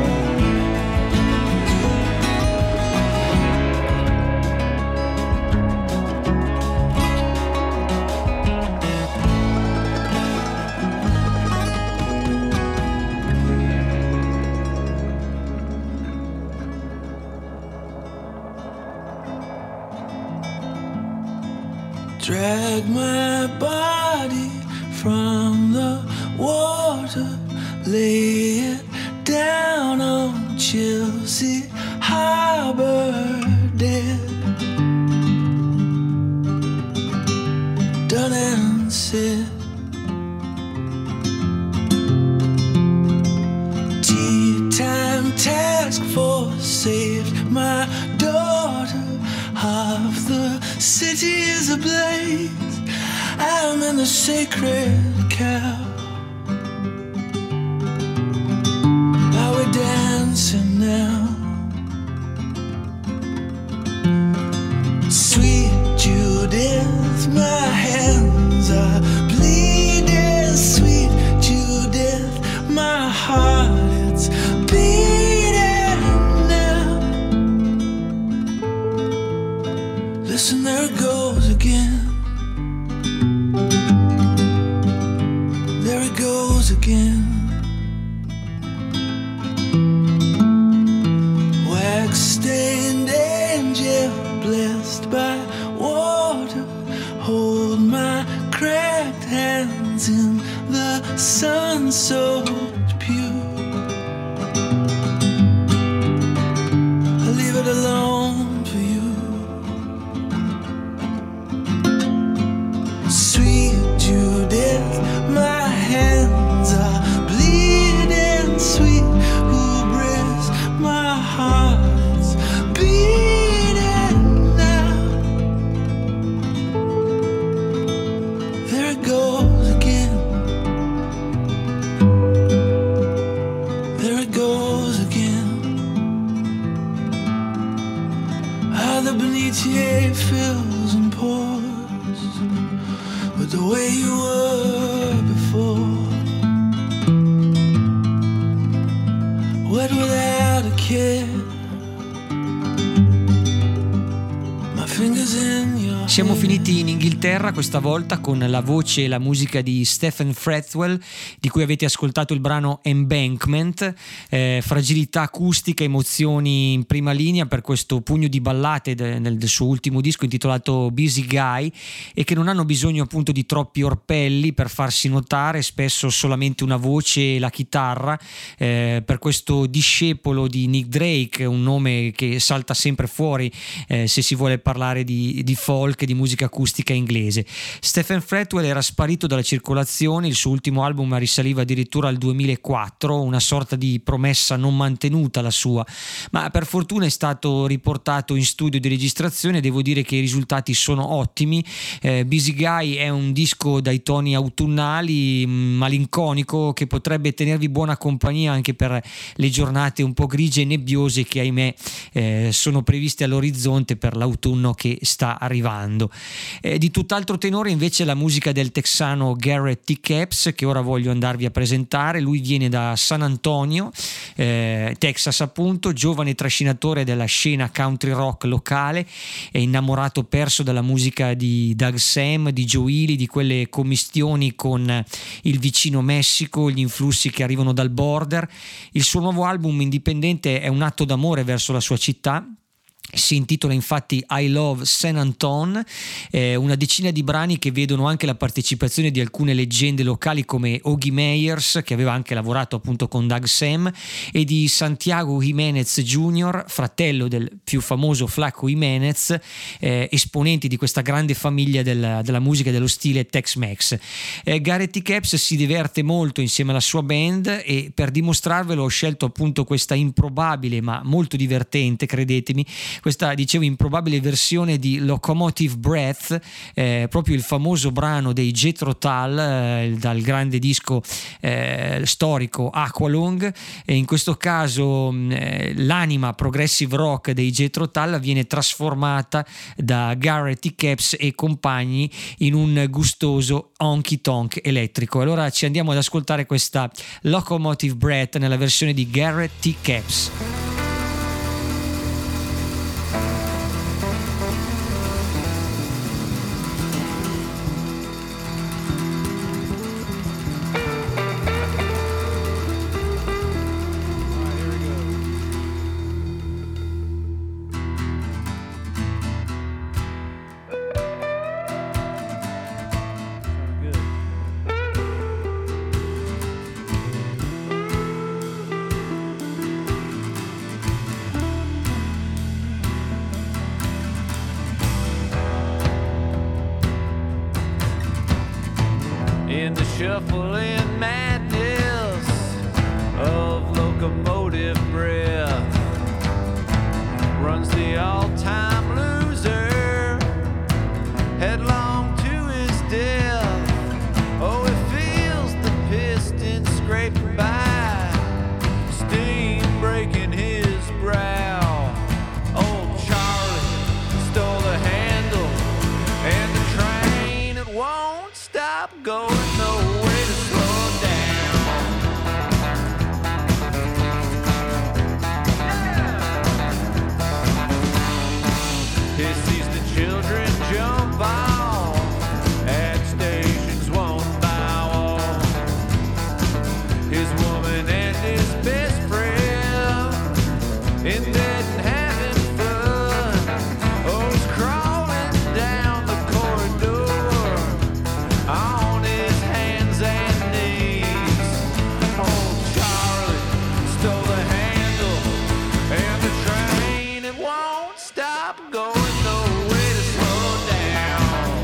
Drag my body from the water, lay it down on Chelsea Harbor dead. Done and said. Tea time task force saved my daughter. Half the city is ablaze. I'm in the sacred cow. Are we dancing now? Sweet Judith, my hands are bleeding. Sweet Judith, my heart, it's beating now. Listen, there it goes again. There it goes again. Wax-stained angel, blessed by water, hold my cracked hands in the sun so pure. I leave it alone for you. Sweet Judith, my hands are bleeding. Sweet hubris, my heart's beating now. There it goes again. There it goes again. How the Benitier fills and pours with the way you were before. Wet without a care. My fingers in your Siamo finiti in Inghilterra questa volta con la voce e la musica di Stephen Fretwell, di cui avete ascoltato il brano Embankment. Fragilità acustica, emozioni in prima linea per questo pugno di ballate del suo ultimo disco intitolato Busy Guy, e che non hanno bisogno appunto di troppi orpelli per farsi notare, spesso solamente una voce e la chitarra. Per questo discepolo di Nick Drake, un nome che salta sempre fuori se si vuole parlare di folk, di musica acustica inglese. Stephen Fretwell era sparito dalla circolazione, il suo ultimo album risaliva addirittura al 2004, una sorta di promessa non mantenuta la sua, ma per fortuna è stato riportato in studio di registrazione e devo dire che i risultati sono ottimi. Busy Guy è un disco dai toni autunnali, malinconico, che potrebbe tenervi buona compagnia anche per le giornate un po' grigie e nebbiose che ahimè sono previste all'orizzonte per l'autunno che sta arrivando. Di tutt'altro tenore invece la musica del texano Garrett T. Capps, che ora voglio andarvi a presentare. Lui viene da San Antonio, Texas appunto, giovane trascinatore della scena country rock locale, è innamorato perso dalla musica di Doug Sam, di Joe Ely, di quelle commistioni con il vicino Messico, gli influssi che arrivano dal border. Il suo nuovo album indipendente è un atto d'amore verso la sua città. Si intitola infatti I Love San Anton, una decina di brani che vedono anche la partecipazione di alcune leggende locali come Ogie Meyers, che aveva anche lavorato appunto con Doug Sam, e di Santiago Jimenez Jr., fratello del più famoso Flaco Jimenez, esponenti di questa grande famiglia della musica dello stile Tex-Mex. Garrett T. Capps si diverte molto insieme alla sua band e per dimostrarvelo ho scelto appunto questa improbabile ma molto divertente, credetemi, questa dicevo improbabile versione di Locomotive Breath, proprio il famoso brano dei Jethro Tull dal grande disco storico Aqualung. E in questo caso l'anima progressive rock dei Jethro Tull viene trasformata da Garrett T. Capps e compagni in un gustoso honky tonk elettrico. Allora ci andiamo ad ascoltare questa Locomotive Breath nella versione di Garrett T. Capps. in the shuffling madness of locomotive breath runs the all-time loser headlong to his death. Oh, it feels scraping by, steam breaking his brow. Old Charlie stole the handle, and the train, it won't stop going, no way to slow down. He sees the children jump off at stations one by one. His woman and his best friend in bed and having fun. Oh, he's crawling down the corridor on his hands and knees. Oh, Charlie stole the handle, and the train, it won't stop going, no way to slow down.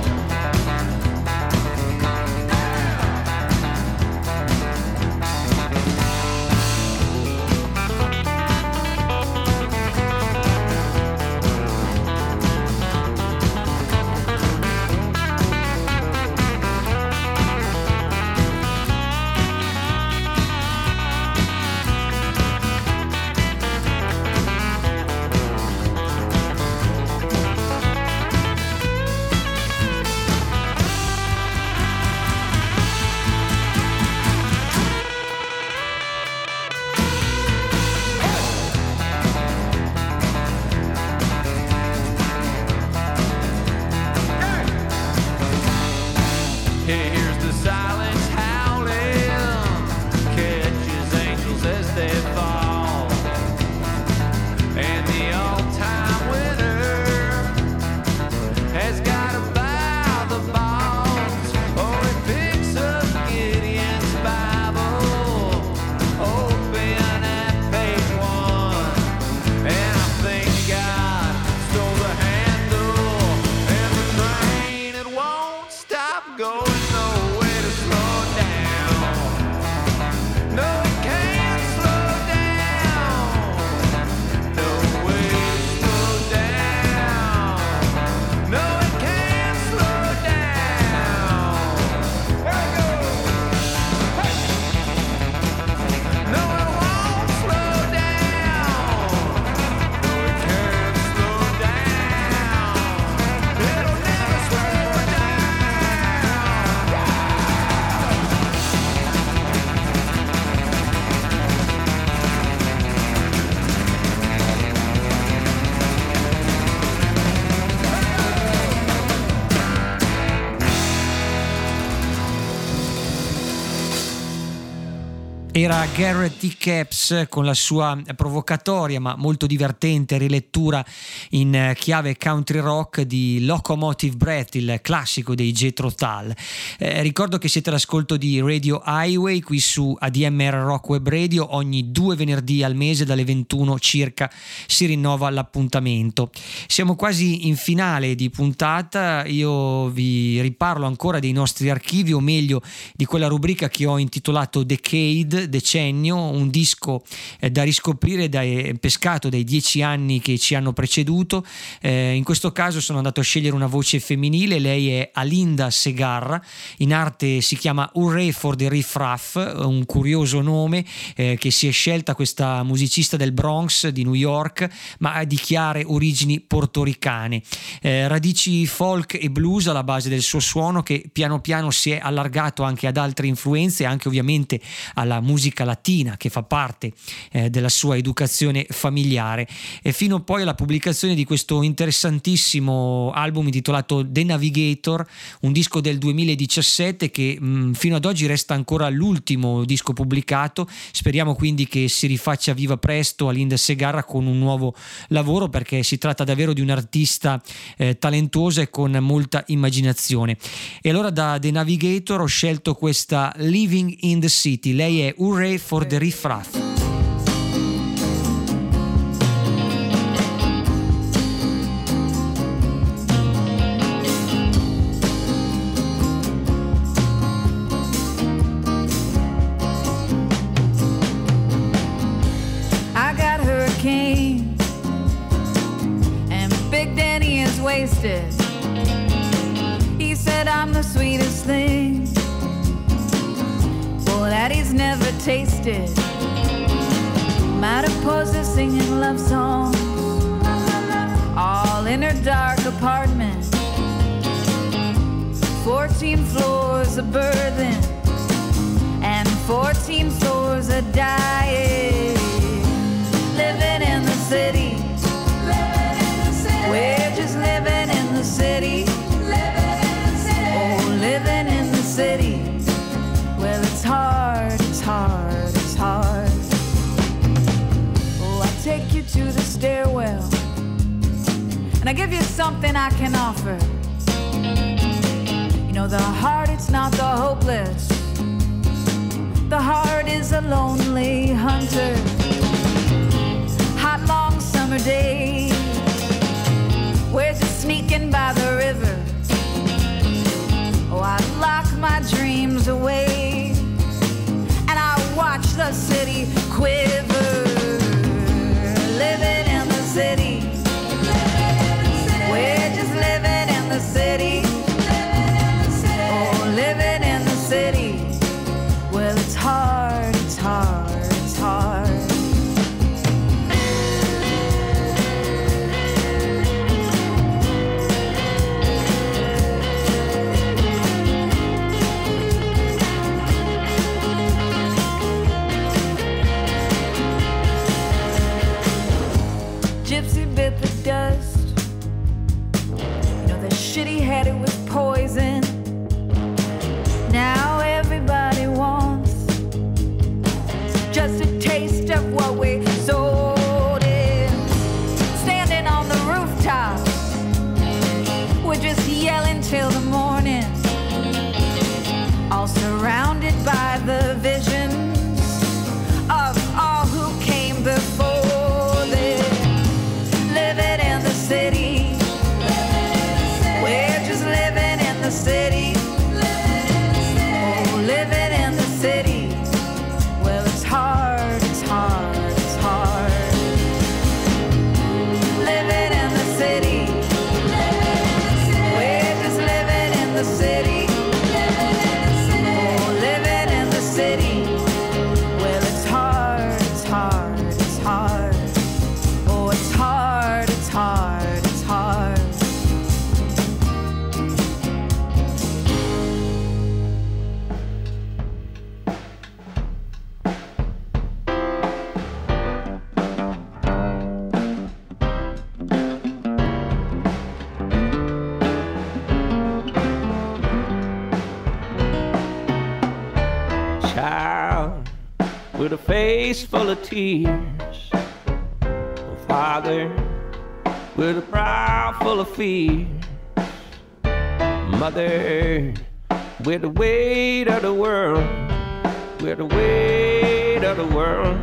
He hears the silence howling, catches angels as they fall, and the all-time winner has got to buy the balls. Oh, he picks up Gideon's Bible, open at page 1, and I think God stole the handle, and the train, it won't stop going, no way to slow down. No, it can't slow down. No way to slow down. No, it can't slow down. There it goes. Hey. No, it won't slow down. No, it can't slow down. It'll never slow down. Era Garrett T. Capps con la sua provocatoria ma molto divertente rilettura in chiave country rock di Locomotive Breath, il classico dei Jethro Tull. Ricordo che siete all'ascolto di Radio Highway qui su ADMR Rock Web Radio. Ogni 2 venerdì al mese dalle 21 circa si rinnova l'appuntamento. Siamo quasi in finale di puntata. Io vi riparlo ancora dei nostri archivi, o meglio di quella rubrica che ho intitolato Decade, decennio, un disco da riscoprire, pescato dai 10 anni che ci hanno preceduto. In questo caso sono andato a scegliere una voce femminile. Lei è Alinda Segarra, in arte si chiama Hooray for the Riff Raff, un curioso nome che si è scelta questa musicista del Bronx di New York ma di chiare origini portoricane, radici folk e blues alla base del suo suono, che piano piano si è allargato anche ad altre influenze, anche ovviamente alla musica latina che fa parte della sua educazione familiare, e fino poi alla pubblicazione di questo interessantissimo album intitolato The Navigator, un disco del 2017 che fino ad oggi resta ancora l'ultimo disco pubblicato. Speriamo quindi che si rifaccia viva presto Alinda Segarra con un nuovo lavoro, perché si tratta davvero di un'artista talentuosa e con molta immaginazione. E allora da The Navigator ho scelto questa Living in the City. Lei è Hooray for the Riff Raff. I got hurricane and Big Danny is wasted. He said I'm the sweetest thing. Well, that he's never tasted. Mariposa singing love songs, all in her dark apartment. 14 floors of birthing and 14 floors of dying. Living in the city, we're just living in the city. Oh, living in the city. Well, it's hard, it's hard, it's hard. Oh, I take you to the stairwell and I give you something I can offer. You know, the heart, it's not the hopeless. The heart is a lonely hunter. Hot, long summer days, we're just sneaking by the river. Oh, I lock my dreams away and I watch the city quiver. Living in the city, we're just living in the city. Oh, living in the city. Well, it's hard, it's hard, it's hard. Gypsy bit the dust. You know, the shit he had, it was poison. Now everybody wants just a taste of what we sold in. Standing on the rooftops, we're just yelling till the morning. All surrounded by the visions of all who came before them. Living in the city, we're just living in the city. Oh, living in the city. Well, it's hard, it's hard, it's hard. Living in the city, we're just living in the city. Oh, living in the city. Well, it's hard, it's hard, it's hard. Oh, it's hard, it's hard, it's hard. Child with a face full of tears, a father with a brow full of fear, mother with the weight of the world, with the weight of the world.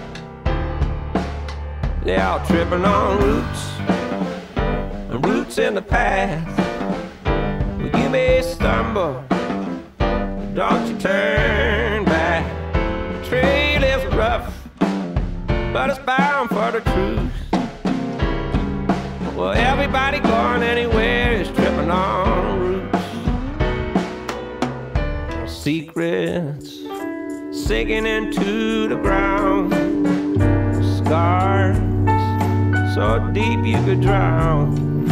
They're all tripping on roots, and roots in the path. Well, you may stumble, don't you turn back. The trail is rough, but it's bound for the truth. Well, everybody going anywhere is tripping on roots. Secrets sinking into the ground, scars so deep you could drown.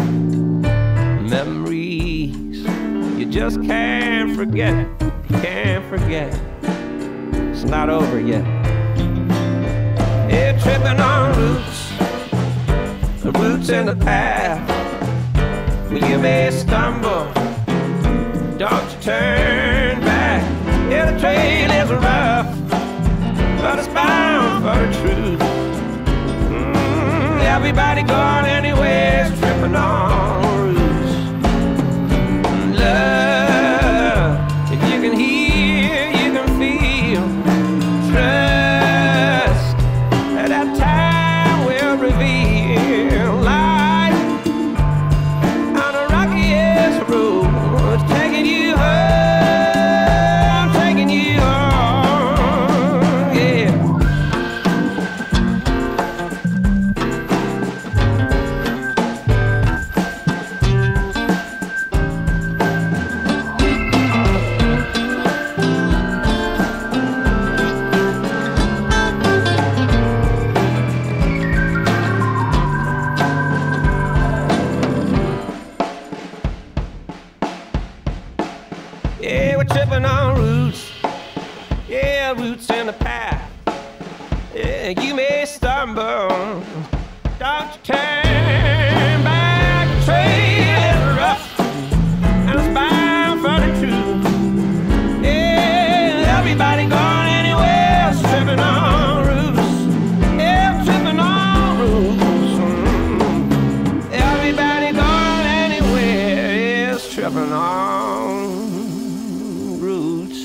Memories you just can't forget, can't forget. It's not over yet. Yeah, tripping on roots, the roots in the path. Well, you may stumble, don't you turn back. Yeah, the trail is rough, but it's bound for the truth. Everybody going anywhere is tripping on roots. Love, if you can hear, you can feel. Trust that time will reveal. Life on the rockiest road, taking you home, taking you home, yeah. You may stumble, don't you turn back. The trail is rough and it's bound for the truth. Yeah, everybody going anywhere, tripping on roots. Yeah, tripping on roots. Everybody going anywhere is tripping on roots.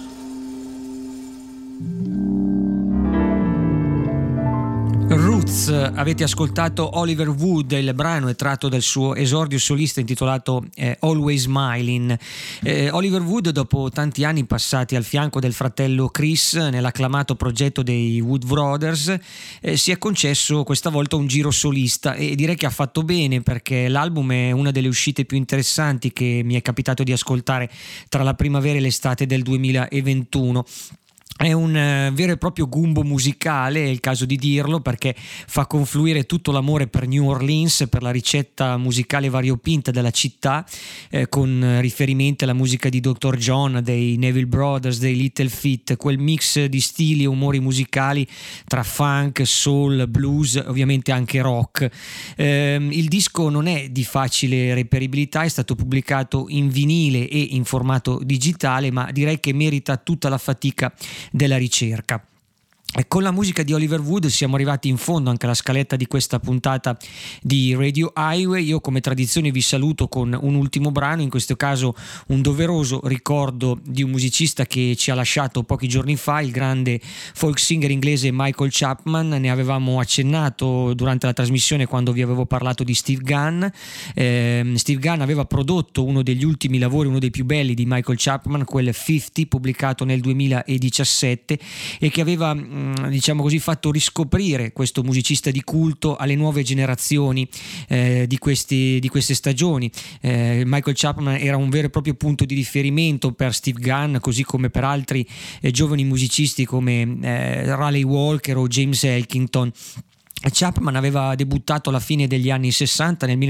Roots, avete ascoltato Oliver Wood, il brano è tratto dal suo esordio solista intitolato Always Smiling. Oliver Wood, dopo tanti anni passati al fianco del fratello Chris nell'acclamato progetto dei Wood Brothers, si è concesso questa volta un giro solista e direi che ha fatto bene, perché l'album è una delle uscite più interessanti che mi è capitato di ascoltare tra la primavera e l'estate del 2021. È un vero e proprio gumbo musicale, è il caso di dirlo, perché fa confluire tutto l'amore per New Orleans, per la ricetta musicale variopinta della città, con riferimenti alla musica di Dr. John, dei Neville Brothers, dei Little Feat, quel mix di stili e umori musicali tra funk, soul, blues, ovviamente anche rock. Il disco non è di facile reperibilità, è stato pubblicato in vinile e in formato digitale, ma direi che merita tutta la fatica della ricerca. E con la musica di Oliver Wood siamo arrivati in fondo anche alla scaletta di questa puntata di Radio Highway. Io come tradizione vi saluto con un ultimo brano, in questo caso un doveroso ricordo di un musicista che ci ha lasciato pochi giorni fa, il grande folk singer inglese Michael Chapman. Ne avevamo accennato durante la trasmissione quando vi avevo parlato di Steve Gunn. Steve Gunn aveva prodotto uno degli ultimi lavori, uno dei più belli di Michael Chapman, quel 50, pubblicato nel 2017, e che aveva diciamo così fatto riscoprire questo musicista di culto alle nuove generazioni di queste stagioni. Michael Chapman era un vero e proprio punto di riferimento per Steve Gunn, così come per altri giovani musicisti come Raleigh Walker o James Elkington. Chapman aveva debuttato alla fine degli anni 60, nel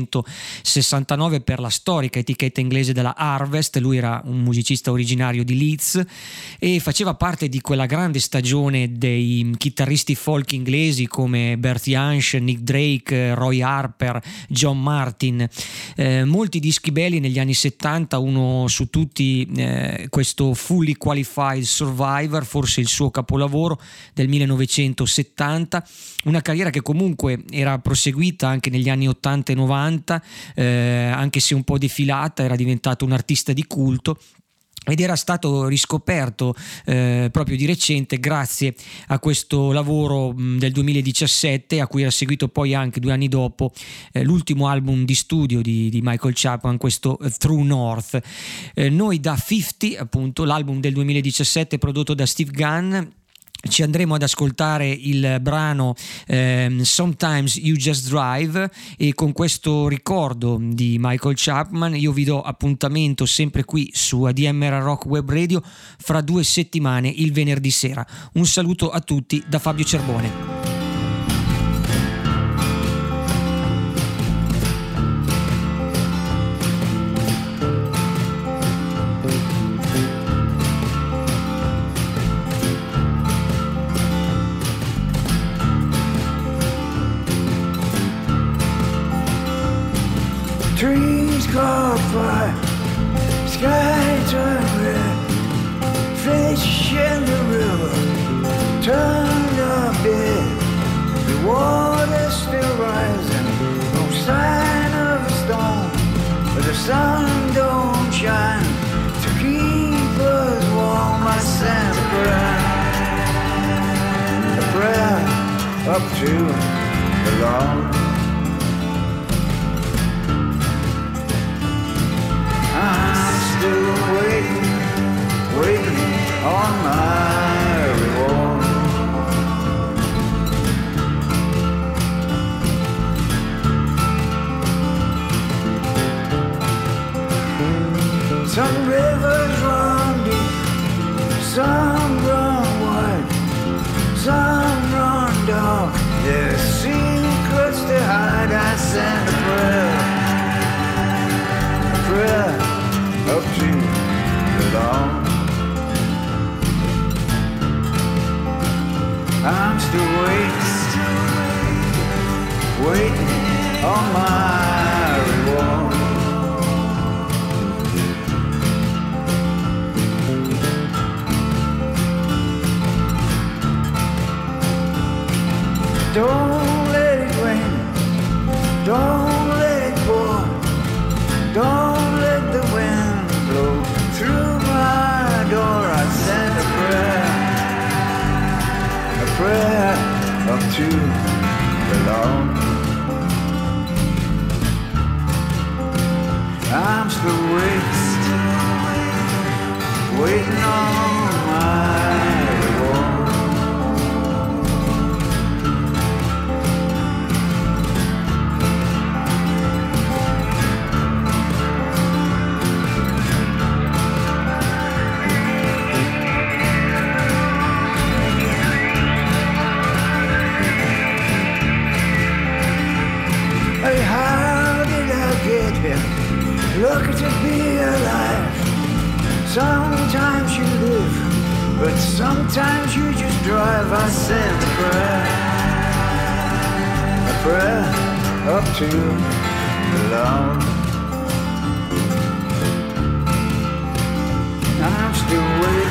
1969, per la storica etichetta inglese della Harvest. Lui era un musicista originario di Leeds e faceva parte di quella grande stagione dei chitarristi folk inglesi come Bert Jansch, Nick Drake, Roy Harper, John Martin. Molti dischi belli negli anni 70, uno su tutti questo Fully Qualified Survivor, forse il suo capolavoro del 1970, una carriera che comunque era proseguita anche negli anni 80 e 90, anche se un po' defilata. Era diventato un artista di culto ed era stato riscoperto proprio di recente grazie a questo lavoro del 2017, a cui era seguito poi anche 2 anni dopo l'ultimo album di studio di Michael Chapman, questo True North. Noi da 50, appunto l'album del 2017 prodotto da Steve Gunn, ci andremo ad ascoltare il brano Sometimes You Just Drive, e con questo ricordo di Michael Chapman io vi do appuntamento sempre qui su ADMR Rock Web Radio fra 2 settimane, il venerdì sera. Un saluto a tutti da Fabio Cerbone. Trees caught fire, sky turned red, fish in the river turned up dead. The water's still rising, no sign of a storm, but the sun don't shine to keep us warm. I sent a prayer up to the Lord. I'm still waiting on my reward. Some rivers run deep, some run wide, some run dark. There's secrets to hide. I send a prayer up to the Lord. I'm still waiting on my reward. Don't let it rain, don't let it pour, don't let the wind blow through my door. I send a prayer up to the Lord. I'm still waiting on my reward. Hey, how did I get here? Lucky to be alive. Sometimes you live, but sometimes you just drive. I send a prayer up to the Lord. I'm still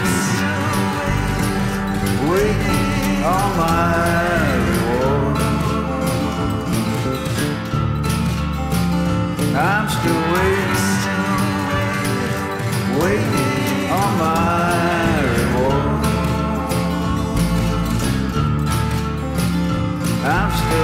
waiting on my reward. I'm still waiting on my reward. I'm still